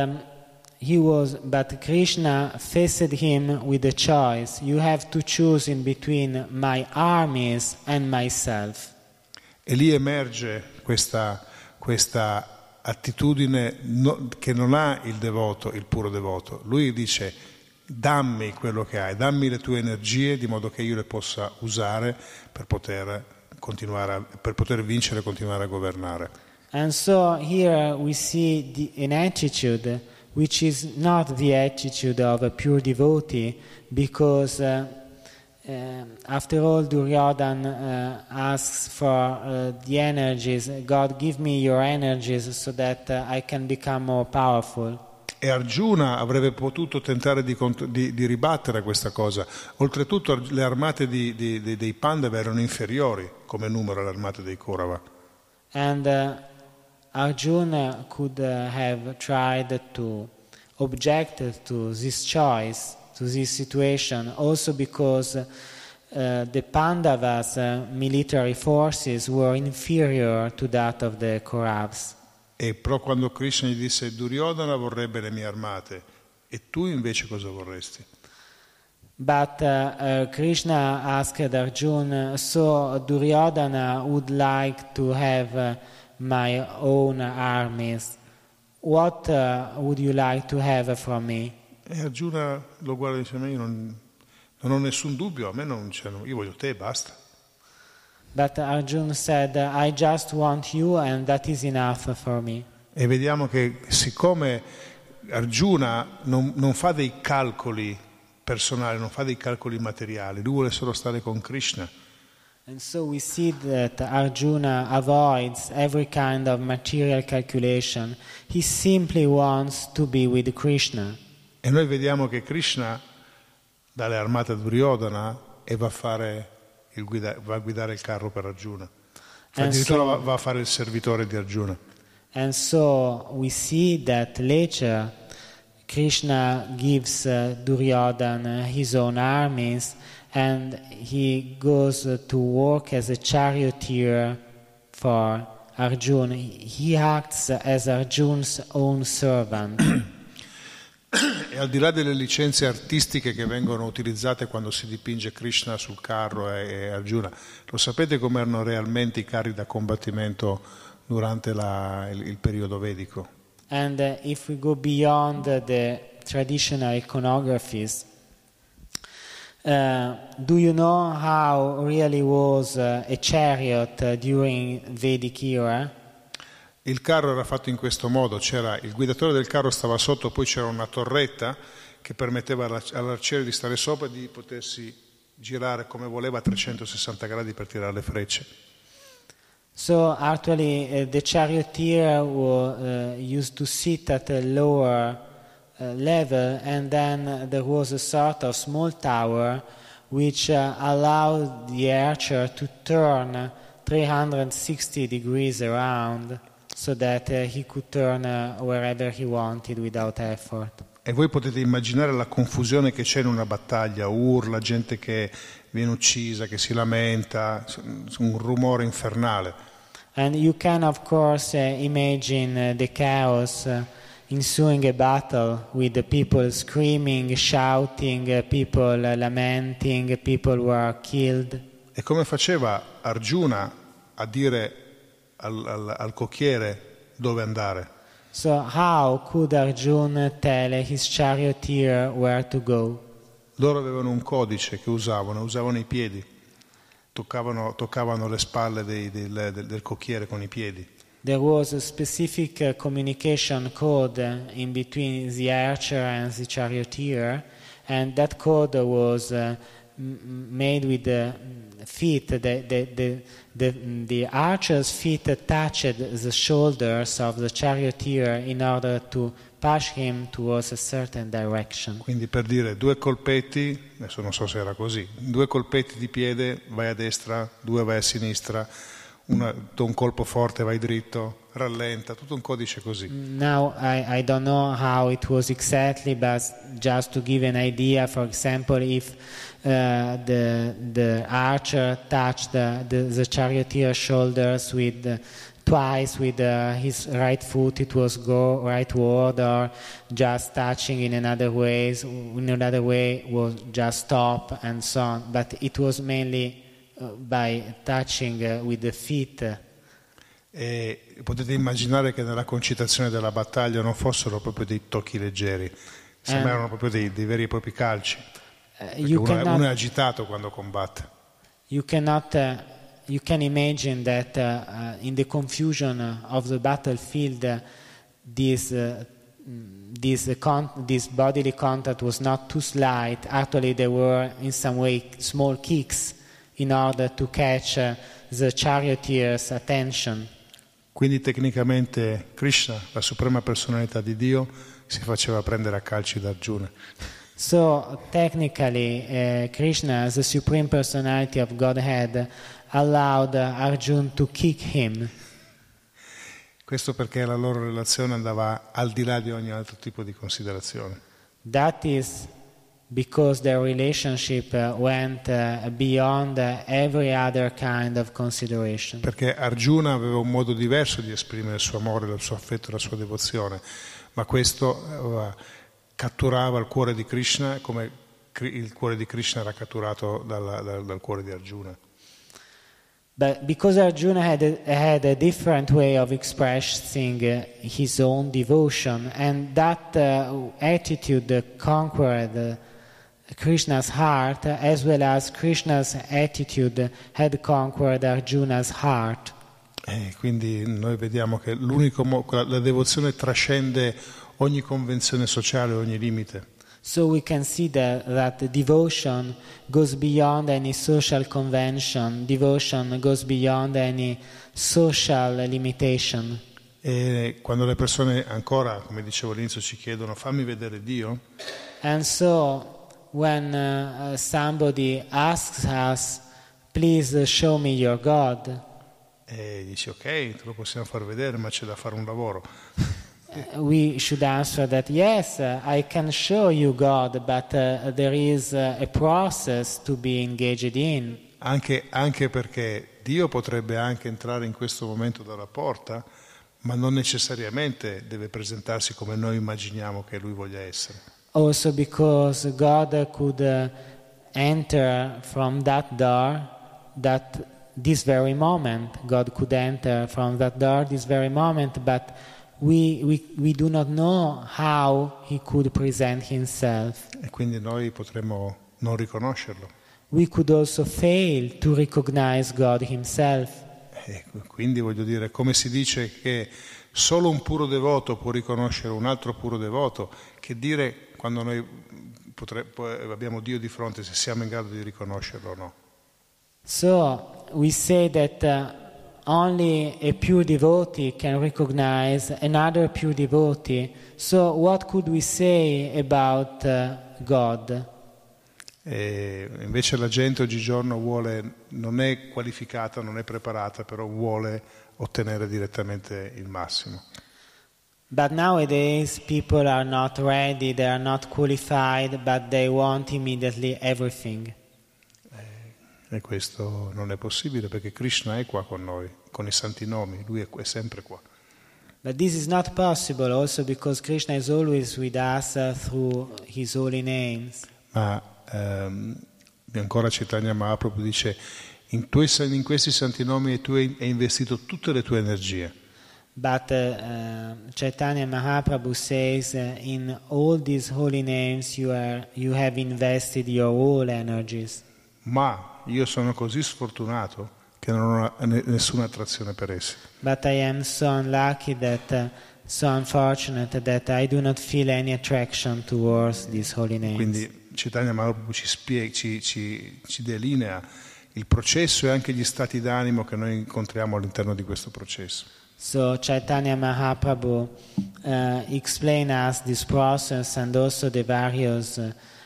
Krishna faced him with a choice. You have to choose in between my armies and myself. E lì emerge questa attitudine che non ha il devoto, il puro devoto. Lui dice: dammi quello che hai, dammi le tue energie di modo che io le possa usare per poter vincere e continuare a governare. And so here we see an attitude which is not the attitude of a pure devotee, because after all Duryodhana asks for the energies. God, give me your energies so that I can become more powerful. E Arjuna avrebbe potuto tentare di ribattere questa cosa. Oltretutto le armate dei Pandava erano inferiori come numero alle armate dei Kaurava. And Arjuna could have tried to object to this choice, to this situation, also because the Pandavas' military forces were inferior to that of the Kauravas. E però quando Krishna gli disse: Duryodhana vorrebbe le mie armate e tu invece cosa vorresti? But Krishna asked Arjuna, so Duryodhana would like to have my own armies. What would you like to have from me? E Arjuna lo guarda e dice: ma io non ho nessun dubbio, a me io voglio te e basta. But Arjuna said, I just want you and that is enough for me. E vediamo che siccome Arjuna non fa dei calcoli personali, non fa dei calcoli materiali, lui vuole solo stare con Krishna. And so we see that Arjuna avoids every kind of material calculation. He simply wants to be with Krishna. E noi vediamo che Krishna dà le armate a Duryodhana e va a guidare il carro per Arjuna. Addirittura va a fare il servitore di Arjuna. And so we see that later Krishna gives Duryodhana his own armies and he goes to work as a charioteer for Arjuna. He acts as Arjuna's own servant. E al di là delle licenze artistiche che vengono utilizzate quando si dipinge Krishna sul carro e Arjuna, lo sapete come erano realmente i carri da combattimento durante il periodo vedico? And if we go beyond the traditional iconographies, do you know how really was a chariot during Vedic era? Il carro era fatto in questo modo: c'era il guidatore del carro, stava sotto, poi c'era una torretta che permetteva all'arciere di stare sopra e di potersi girare come voleva a 360 gradi per tirare le frecce. So actually the charioteer used to sit at a lower level, and then there was a sort of small tower which allowed the archer to turn 360 degrees around so that he could turn wherever he wanted without effort. E voi potete immaginare la confusione che c'è in una battaglia, urla, gente che viene uccisa, che si lamenta, un rumore infernale. And you can of course imagine the chaos ensuing a battle with the people screaming, shouting, people lamenting, people were killed. E come faceva Arjuna a dire al cocchiere dove andare? So how could Arjuna tell his charioteer where to go? Loro avevano un codice che usavano i piedi, toccavano le spalle del cocchiere con i piedi. There was a specific communication code in between the archer and the charioteer, and that code was made with the feet. The archer's feet touched the shoulders of the charioteer in order to push him towards a certain direction. Quindi per dire 2 colpetti, adesso non so se era così, 2 colpetti di piede, vai a destra, 2 vai a sinistra, un colpo forte vai dritto, rallenta, tutto un codice così. Now I don't know how it was exactly, but just to give an idea, for example, if the archer touched the charioteer's shoulders twice with his right foot, it was go rightward, or just touching in another way was just stop, and so on. But it was mainly by touching with the feet. E potete immaginare che nella concitazione della battaglia non fossero proprio dei tocchi leggeri, sembrano proprio dei veri e propri calci. Uno è agitato quando combatte. You can imagine that in the confusion of the battlefield, this bodily contact was not too slight. Actually, there were in some way small kicks in order to catch the charioteer's attention. Quindi tecnicamente Krishna, la suprema personalità di Dio, si faceva prendere a calci da Arjuna. So technically Krishna, the supreme personality of Godhead, allowed Arjuna to kick him. Questo perché la loro relazione andava al di là di ogni altro tipo di considerazione. That is because their relationship went beyond every other kind of consideration. Perché Arjuna aveva un modo diverso di esprimere il suo amore, il suo affetto, la sua devozione, ma questo catturava il cuore di Krishna come il cuore di Krishna era catturato dal cuore di Arjuna. But because Arjuna had a different way of expressing his own devotion, and that attitude conquered Krishna's heart, as well as Krishna's attitude had conquered Arjuna's heart. E quindi noi vediamo che la devozione trascende ogni convenzione sociale, ogni limite. So we can see that the devotion goes beyond any social convention, devotion goes beyond any social limitation. E quando le persone ancora, come dicevo all'inizio, ci chiedono fammi vedere Dio, And so when somebody asks us, please show me your God, e dici ok, te lo possiamo far vedere, ma c'è da fare un lavoro. we should answer that yes, I can show you God, but there is a process to be engaged in. Anche perché Dio potrebbe anche entrare in questo momento dalla porta, ma non necessariamente deve presentarsi come noi immaginiamo che Lui voglia essere. Also because God could enter from that door, that this very moment, God could enter from that door this very moment, but we do not know how He could present Himself. E quindi noi potremmo non riconoscerlo. We could also fail to recognize God Himself. E quindi voglio dire, come si dice che solo un puro devoto può riconoscere un altro puro devoto, che dire quando noi abbiamo Dio di fronte, se siamo in grado di riconoscerlo o no. So we say that only a pure devotee can recognize another pure devotee. So what could we say about God? E invece la gente oggigiorno non è qualificata, non è preparata, però vuole ottenere direttamente il massimo. But nowadays people are not ready, they are not qualified, but they want immediately everything. E questo non è possibile perché Krishna è qua con noi, con i santi nomi, Lui è sempre qua. But this is not possible also because Krishna is always with us through His holy names. Ma ancora Chaitanya Mahaprabhu dice in questi santi nomi tu hai investito tutte le tue energie. But Chaitanya Mahaprabhu says in all these holy names you have invested your whole energies. Ma io sono così sfortunato che non ho nessuna attrazione per essi. But I am so unlucky so unfortunate that I do not feel any attraction towards these holy names. Quindi Chaitanya Mahaprabhu ci delinea il processo e anche gli stati d'animo che noi incontriamo all'interno di questo processo. So Chaitanya Mahaprabhu explain us this process and also the various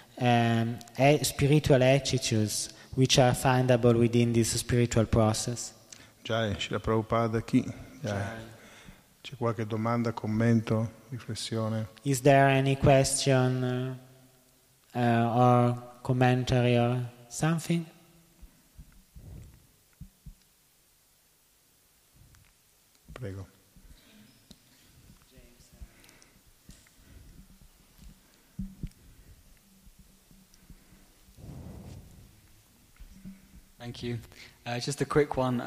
spiritual attitudes which are findable within this spiritual process. Jai, Srila Prabhupada chi? Jai. C'è qualche domanda, commento, riflessione? Is there any question or commentary or something? Prego. Thank you. Just a quick one.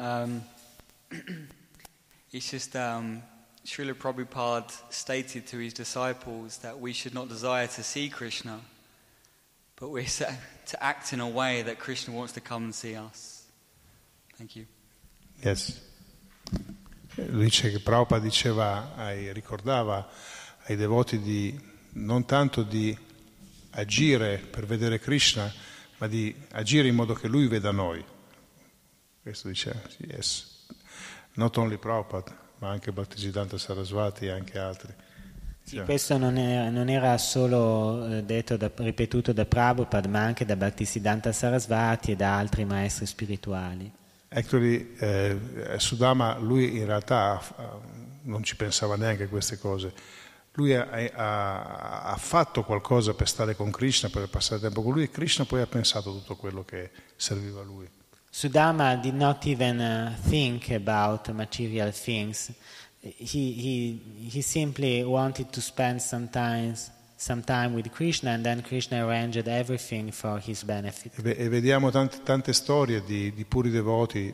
It's just Srila Prabhupada stated to his disciples that we should not desire to see Krishna, but we're to act in a way that Krishna wants to come and see us. Thank you. Yes. Lui dice che Prabhupada ricordava ai devoti non tanto di agire per vedere Krishna, ma di agire in modo che lui veda noi. Questo dice, yes. Not only Prabhupada, ma anche Bhaktisiddhanta Sarasvati e anche altri. Sì, questo non era solo ripetuto da Prabhupada, ma anche da Bhaktisiddhanta Sarasvati e da altri maestri spirituali. Actually, Sudama, lui in realtà non ci pensava neanche a queste cose. Lui ha fatto qualcosa per stare con Krishna, per passare tempo con lui, e Krishna poi ha pensato tutto quello che serviva a lui. Sudama did not even think about material things. He simply wanted to spend some time with Krishna, and then Krishna arranged everything for his benefit. E vediamo tante storie di puri devoti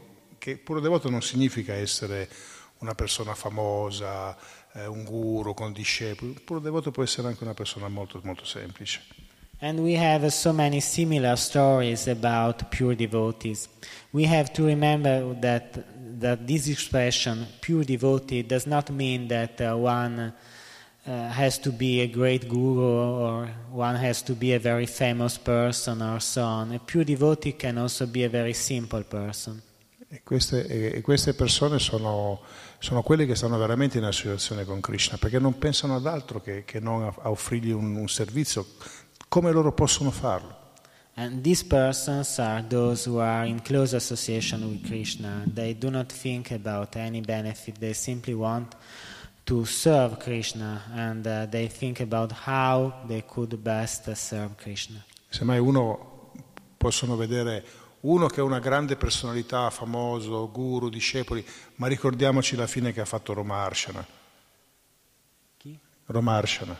che puro devoto non significa essere una persona famosa, un guru con discepoli. Puro devoto può essere anche una persona molto, molto semplice. And we have so many similar stories about pure devotees. We have to remember that this expression, pure devotee, does not mean that one has to be a great guru or one has to be a very famous person or so on. A pure devotee can also be a very simple person. E queste persone sono quelle che stanno veramente in associazione con Krishna, perché non pensano ad altro che non a offrirgli un servizio. Come loro possono farlo? And these persons are those who are in close association with Krishna. They do not think about any benefit. They simply want to serve Krishna, and they think about how they could best serve Krishna. Semmai possono vedere uno che è una grande personalità, famoso, guru, discepoli, ma ricordiamoci la fine che ha fatto Romarshana. Chi? Romarshana.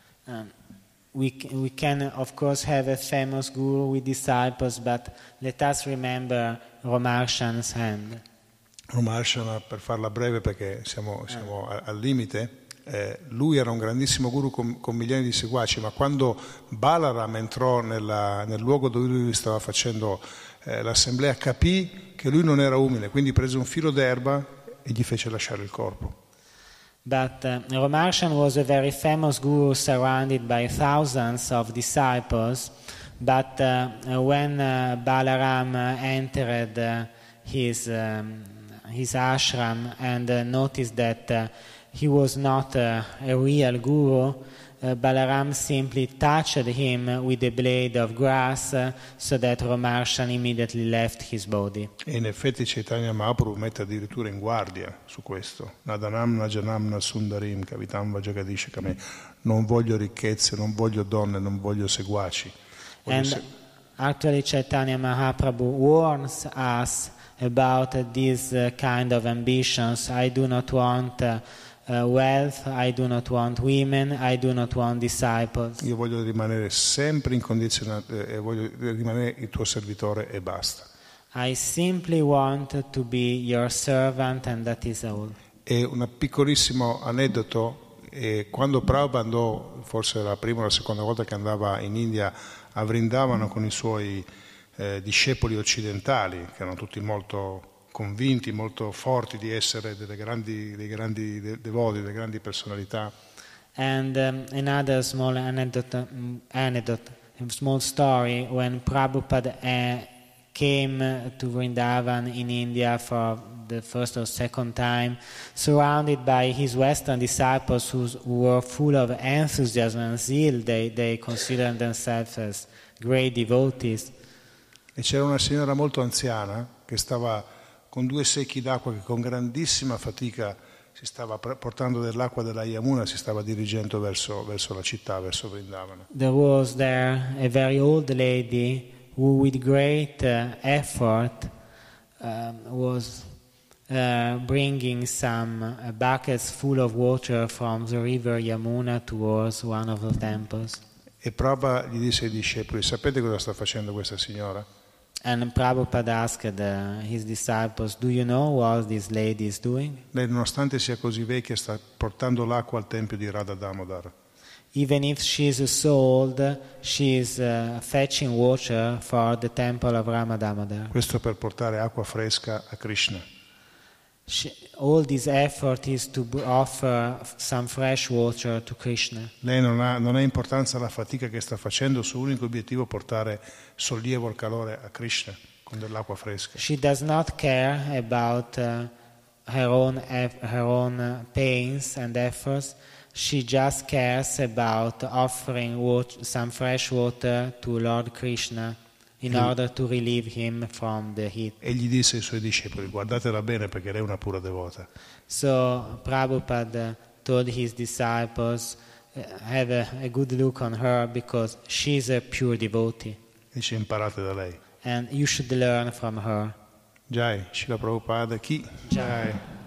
We can of course have a famous guru with disciples, but let us remember Romarshana's hand. Romarshana, per farla breve perché siamo al limite, lui era un grandissimo guru con milioni di seguaci, ma quando Balaram entrò nel luogo dove lui stava facendo l'assemblea, capì che lui non era umile, quindi prese un filo d'erba e gli fece lasciare il corpo. But Romarshan was a very famous guru surrounded by thousands of disciples, but when Balaram entered his ashram and noticed that he was not a real guru, Balaram simply touched him with a blade of grass so that Romarshan immediately left his body. E in effetti Chaitanya Mahaprabhu mette addirittura in guardia su questo. Nadanam Najanam Sundarim Kavitam Vajagadish Kame. Non voglio ricchezze, non voglio donne, non voglio seguaci. Actually Chaitanya Mahaprabhu warns us about these kind of ambitions. I do not want wealth, I do not want women, I do not want disciples. Io voglio rimanere sempre incondizionato e voglio rimanere il tuo servitore e basta. I simply want to be your servant and that is all. E un piccolissimo aneddoto, quando Prabhupada andò, forse la prima o la seconda volta che andava in India a Vrindavana con i suoi discepoli occidentali, che erano tutti molto convinti, molto forti di essere dei grandi devoti, delle grandi personalità. And another small anecdote, a small story, when Prabhupada came to Vrindavan in India for the first or second time, surrounded by his Western disciples who were full of enthusiasm and zeal. They considered themselves as great devotees. E c'era una signora molto anziana che stava con 2 secchi d'acqua, che con grandissima fatica si stava portando dell'acqua della Yamuna, si stava dirigendo verso la città, verso Vrindavana. There was there a very old lady who with great effort was bringing some buckets full of water from the river Yamuna towards one of the temples. E Prabhupada gli disse ai discepoli: sapete cosa sta facendo questa signora? And Prabhupada asked his disciples, do you know what this lady is doing? Lei, nonostante sia così vecchia, sta portando l'acqua al tempio di Radha Damodar. Even if she is so old, she is fetching water for the temple of Rama Damodar. Questo per portare acqua fresca a Krishna. All this effort is to offer some fresh water to Krishna. Lei non ha importanza la fatica che sta facendo, il suo unico obiettivo è portare sollievo al calore a Krishna con dell'acqua fresca. She does not care about her own pains and efforts. She just cares about offering some fresh water to Lord Krishna in order to relieve him from the heat. E gli disse ai suoi discepoli: guardatela bene perché lei è una pura devota. So Prabhupada told his disciples, have a good look on her because she's a pure devotee. Dice: imparate da lei. And you should learn from her. Jai, Srila Prabhupada, chi? Jai.